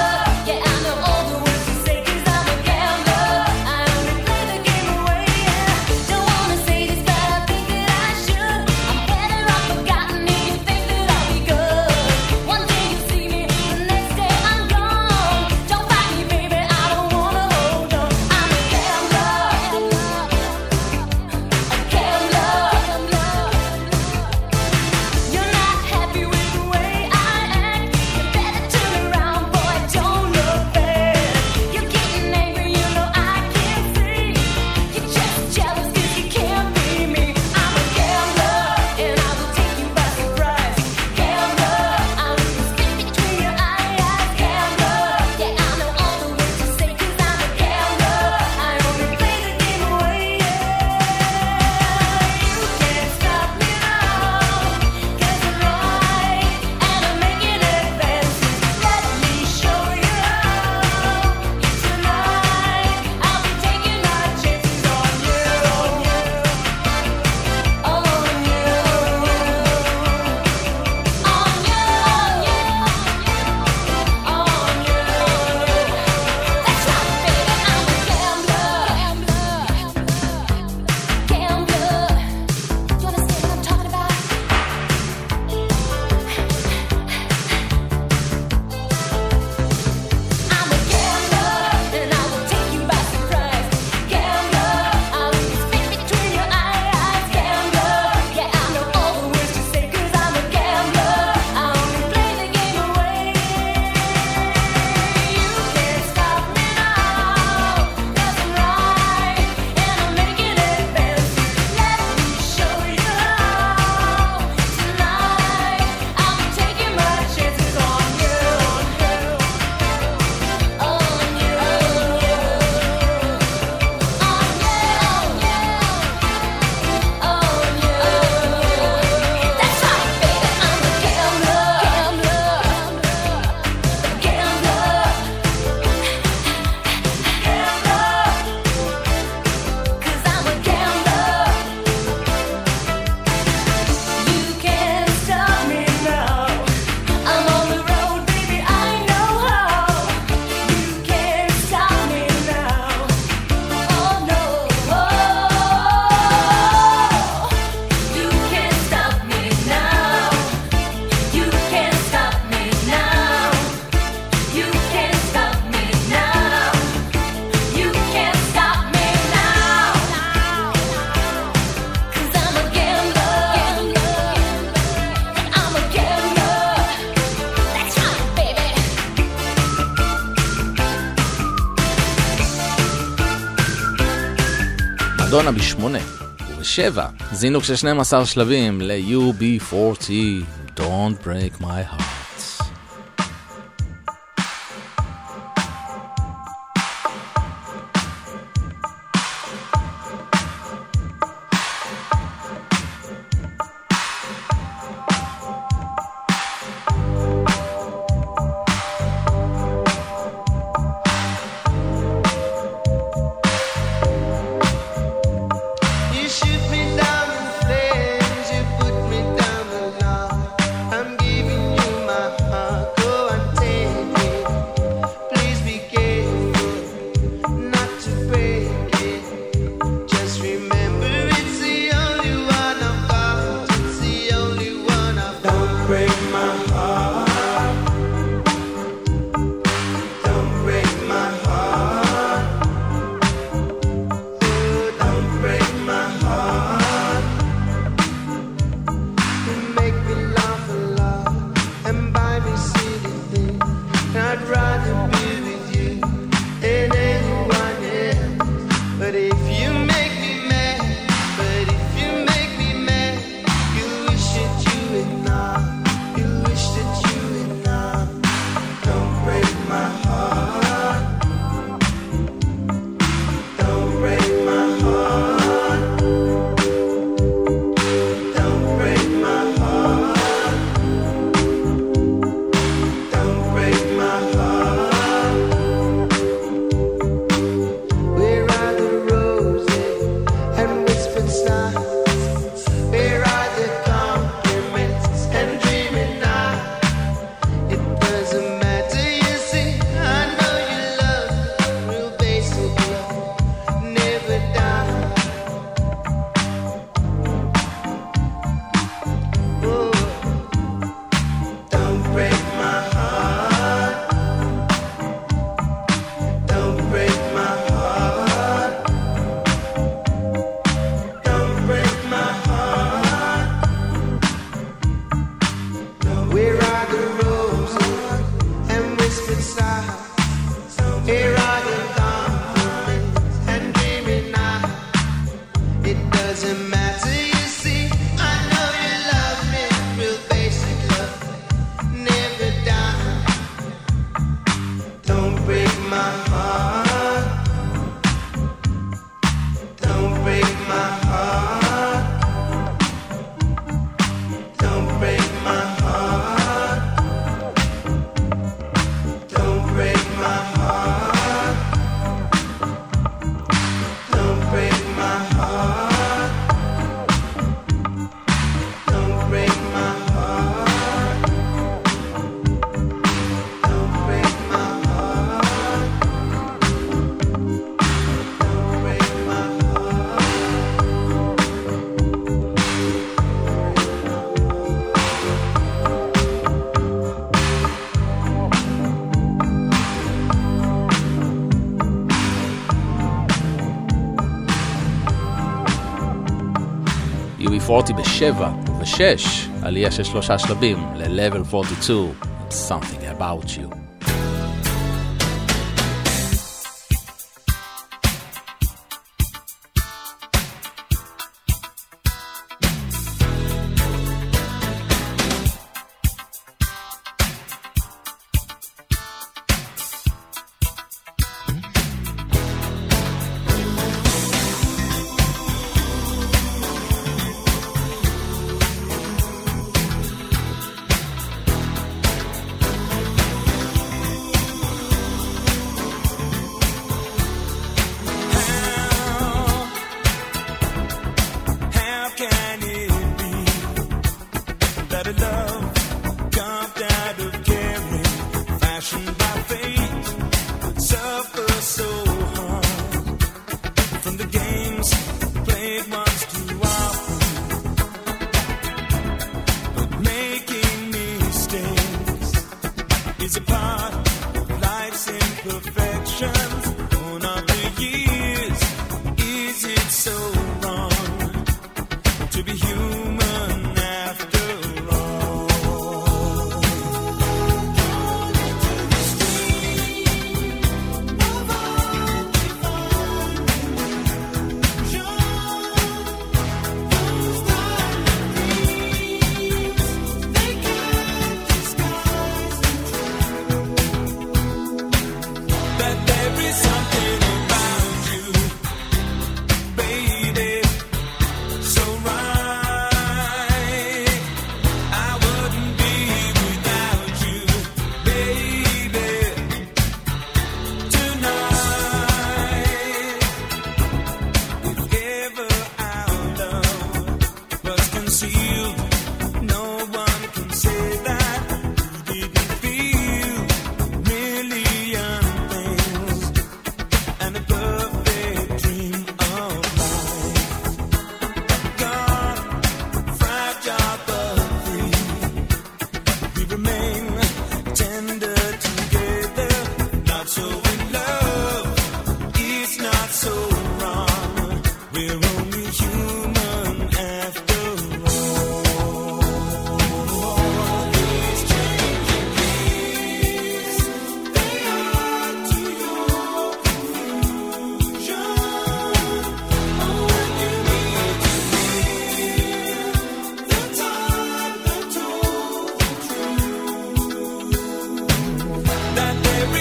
מדונה בשמונה, ובשבע, זינוק של שנים עשר שלבים ל-יו בי פורטי, Don't Break My Heart. יו בי פורטי בשבע ובשש, עלייה של שלושה שלבים ל-Level forty-two, Something About You. Sure.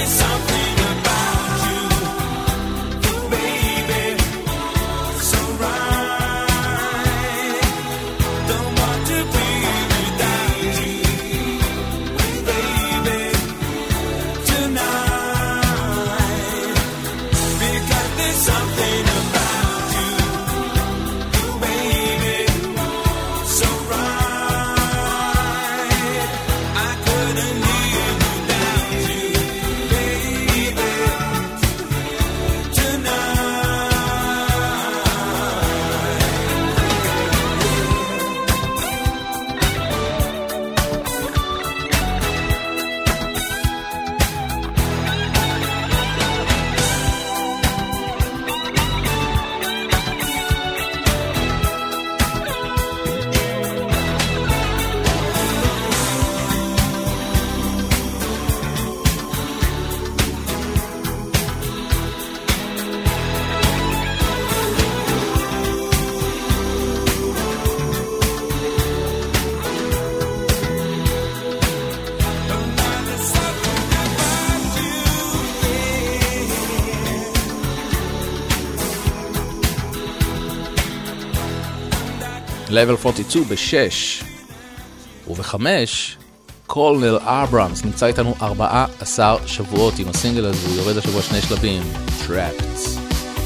Level ארבעים ושתיים בשש ובחמש קולנל אברהמס נמצא איתנו ארבעה עשר שבועות עם הסינגל הזה, הוא יורד השבוע שני שלבים, Trapped.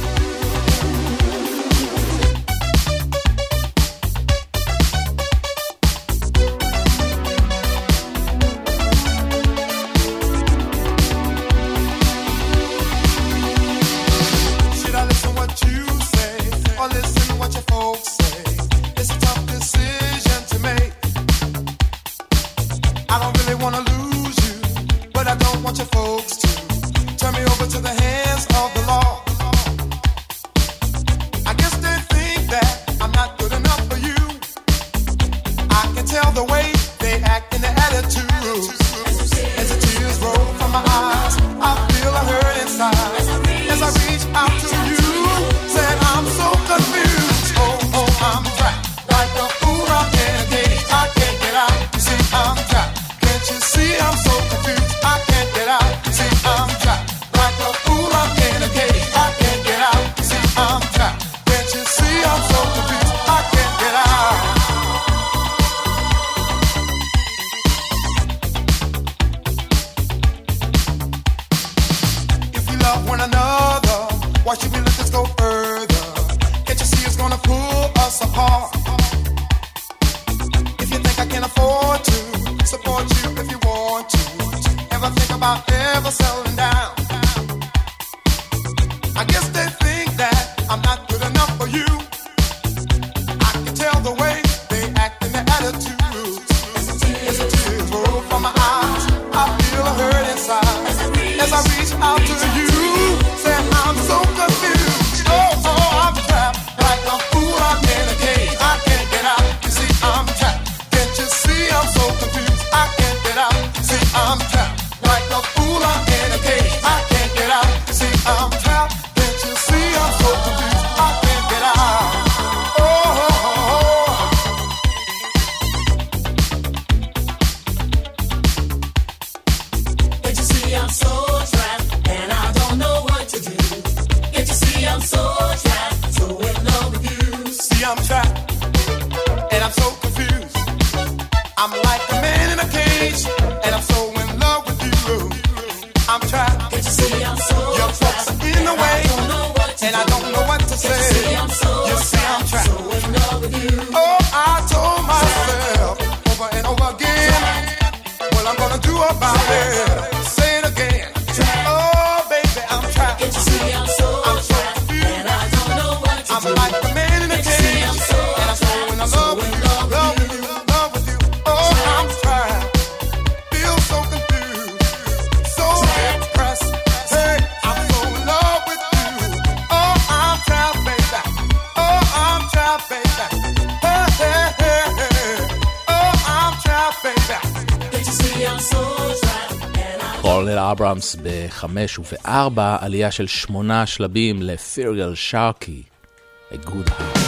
אברהמס בחמש ובארבע, עלייה של שמונה שלבים לפירגל שרקי, A Good Heart.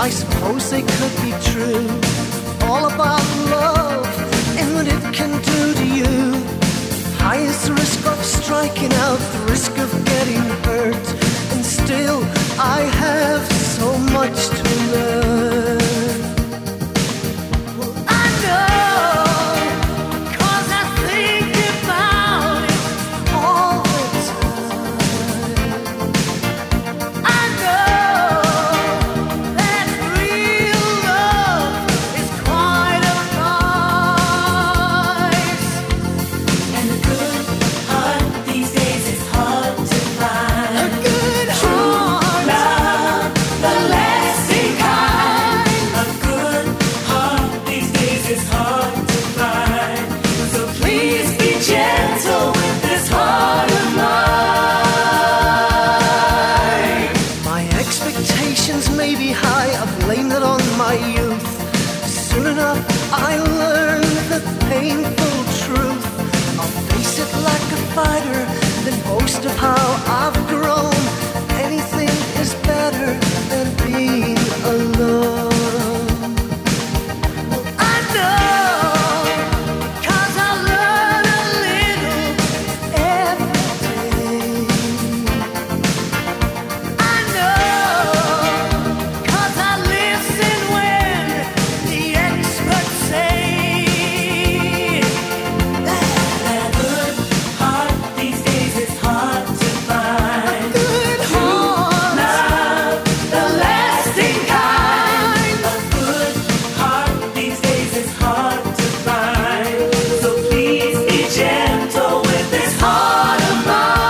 I suppose they could be true. All about love and what it can do to you. Highest risk of striking out, the risk of getting hurt. And still I have so much to learn. Well, I know, 'cause I think about it all the time. I know that real love is quite a price. And a good heart these days is hard to find. A good heart, Love, the lasting kind. A good heart these days is hard to find. So please be gentle with this heart of mine. my expectations may be high. I've blamed it on my youth. Soon enough I learn the painful truth. I'll face it like a fighter, then boast of how I've grown. Anything is better than being alone. I know, 'cause I learn a little every day. I know, 'cause I listen when the experts say that A good heart these days is hard to find. good heart, Love, the lasting kind. A good heart these days is hard to find. So please be gentle with this heart of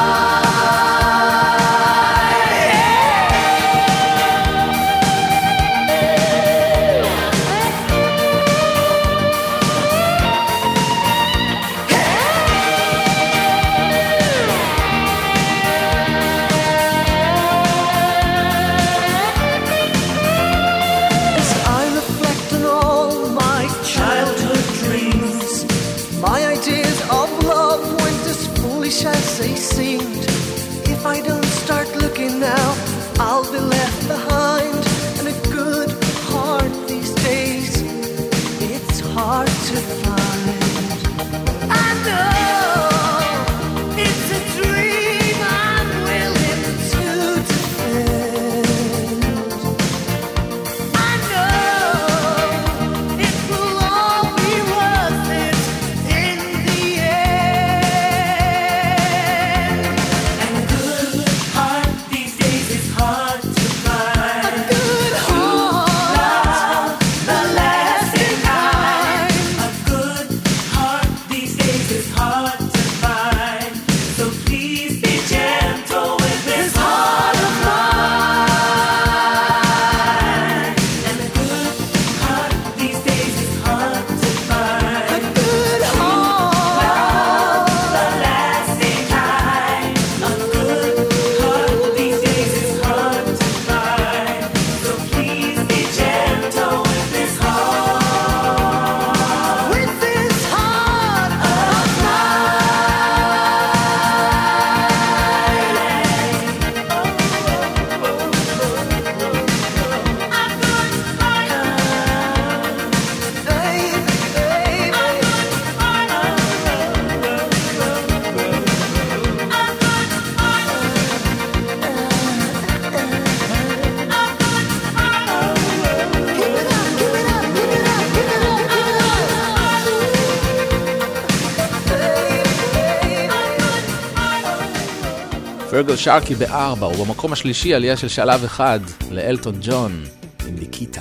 as I reflect on all my childhood dreams, my ideas of love went as foolish as they seemed. If I don't start looking now, I'll be left behind. And a good heart these days, it's hard to find. I know it's a dream I'm willing to defend. I know it will all be worth it in the end. And a good heart these days is hard to find. A good heart, The lasting kind. kind. A good heart these days is hard to find. So please be gentle with this heart of mine. And a good heart these days is hard to A find. good heart, The lasting kind. A good heart these days is hard to find. So please be gentle with this heart. with this heart of mine. Baby, baby. Give it up, give it up, give it up, give it up, give it up, give it up. פרגל שרקי בארבע, ובמקום השלישי עלייה של שלב אחד לאלטון ג'ון עם ניקיטה.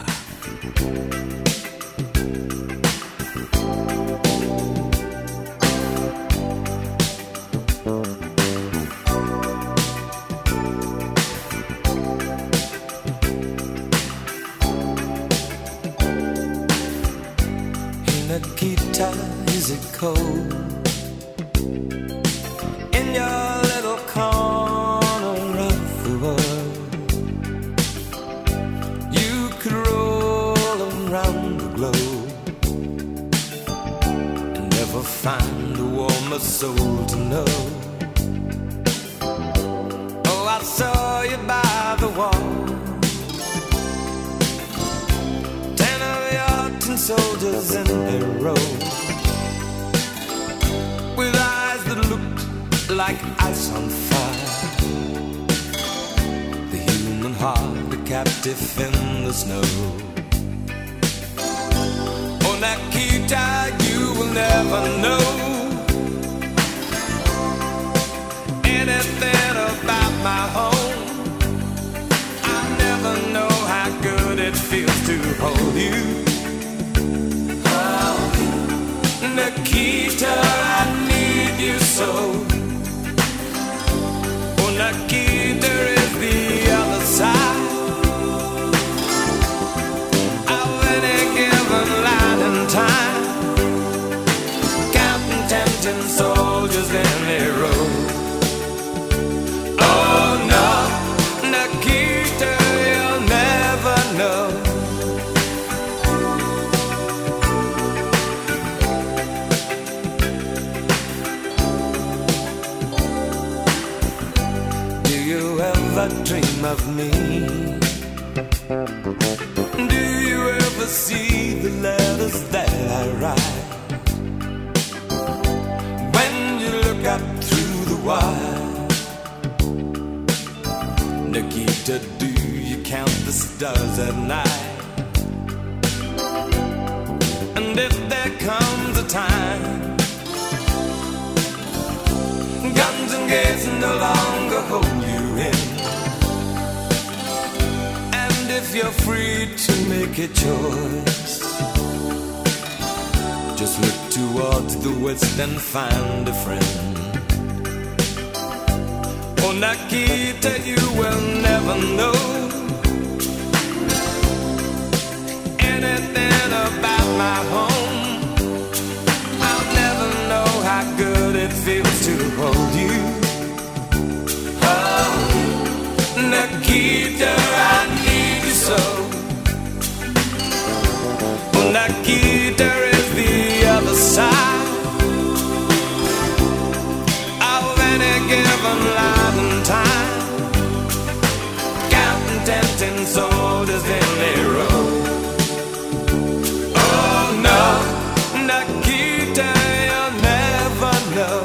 Nikita, is it cold in your little corner of the world? You could roll around the globe and never find a warmer soul to know. Oh, I saw you by the wall soldiers in their row, with eyes that looked like ice on fire. The human heart, a captive in the snow. Oh, Nikita, you will never know anything about my home. I'll never know how good it feels to hold you. Oh, Nikita, I need you so. Oh, Nikita is the other side of any given line in time, counting tempting soldiers in their row. Oh no, Nikita, you'll never know. Do you ever dream of me? Do you ever see the letters that I write? When you look up through the wire, Nikita, do you count the stars at night? And if there comes a time guns and gates no longer hold you in, and if you're free to make a choice, just look towards the west and find a friend. Oh, Nikita, you will never know anything about my home. I'll never know how good it feels to hold you. Oh, Nikita, I need you so. Oh, Nikita is the other side of any given line in time, counting tempting soldiers in their row. Oh no, Nikita, you'll never know.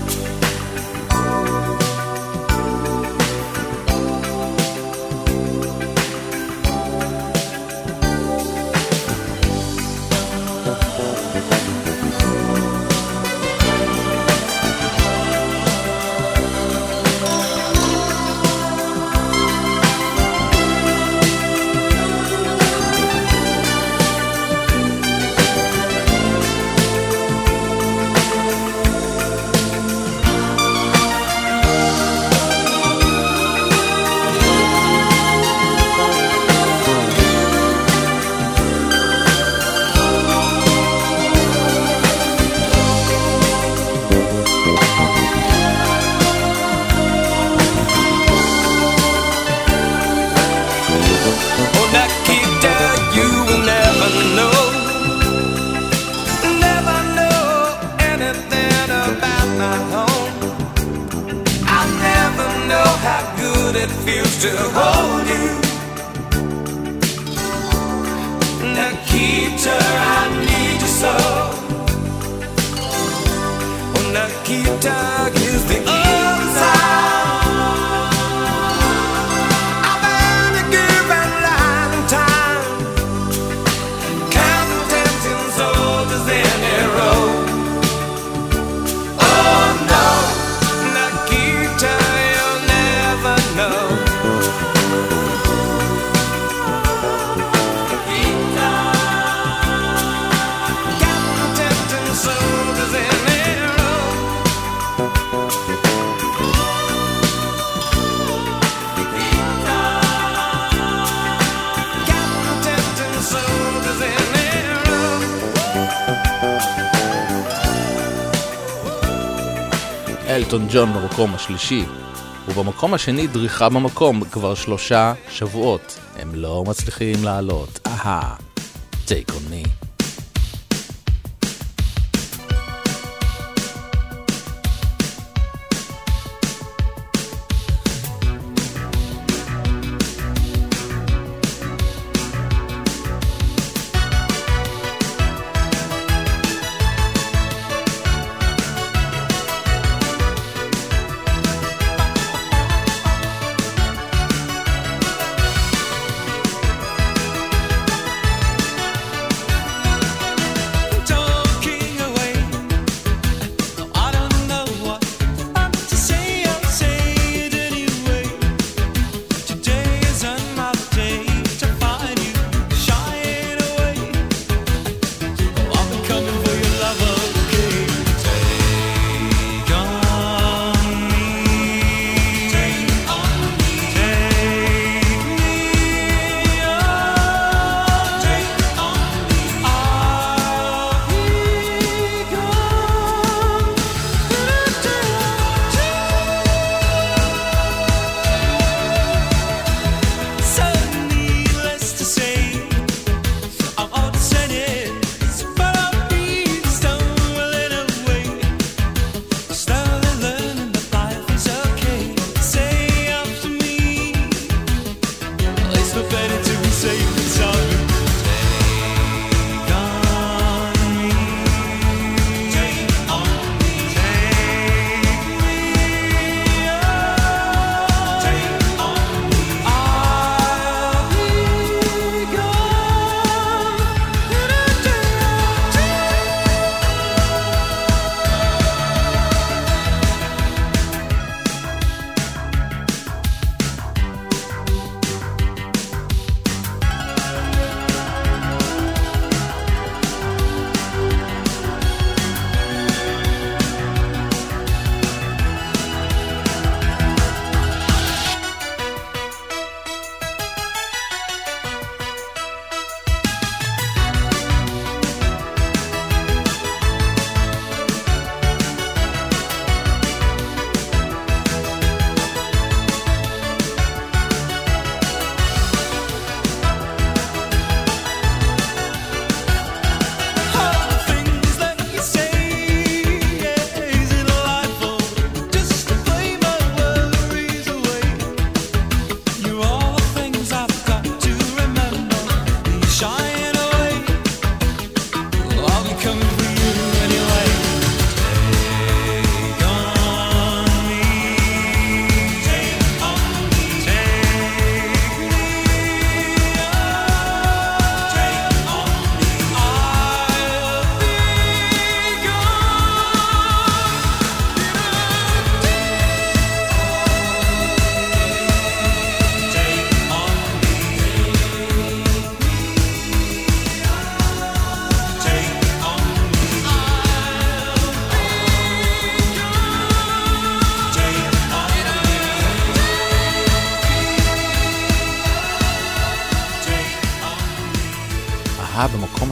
It feels to hold you. Nikita, I need you so. Oh, Nikita is the other side of any given line in time, counting tempting soldiers in a row. Oh no, Nikita, you'll never know. אלטון ג'ון במקום השלישי, ובמקום השני דריכה במקום כבר שלושה שבועות. הם לא מצליחים לעלות. אהה, Take on me.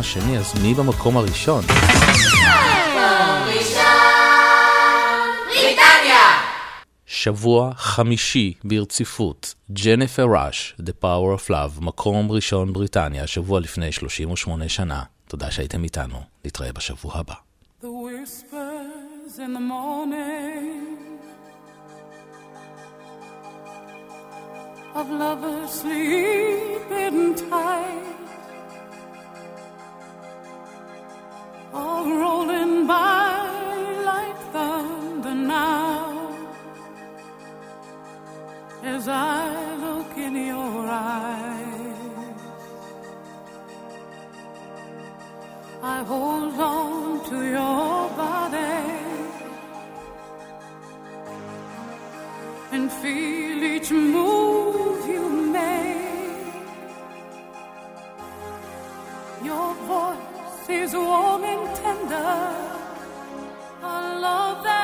השני, אז מי במקום הראשון? שבוע חמישי ברציפות, ג'ניפר ראש, The Power of Love, מקום ראשון בריטניה, שבוע לפני שלושים ושמונה שנה. תודה שהייתם איתנו, נתראה בשבוע הבא. The whispers in the morning of lovers sleeping tight are rolling by like thunder now. As I look in your eyes, I hold on to your body and feel each move you make. Your voice is warm and tender, a love that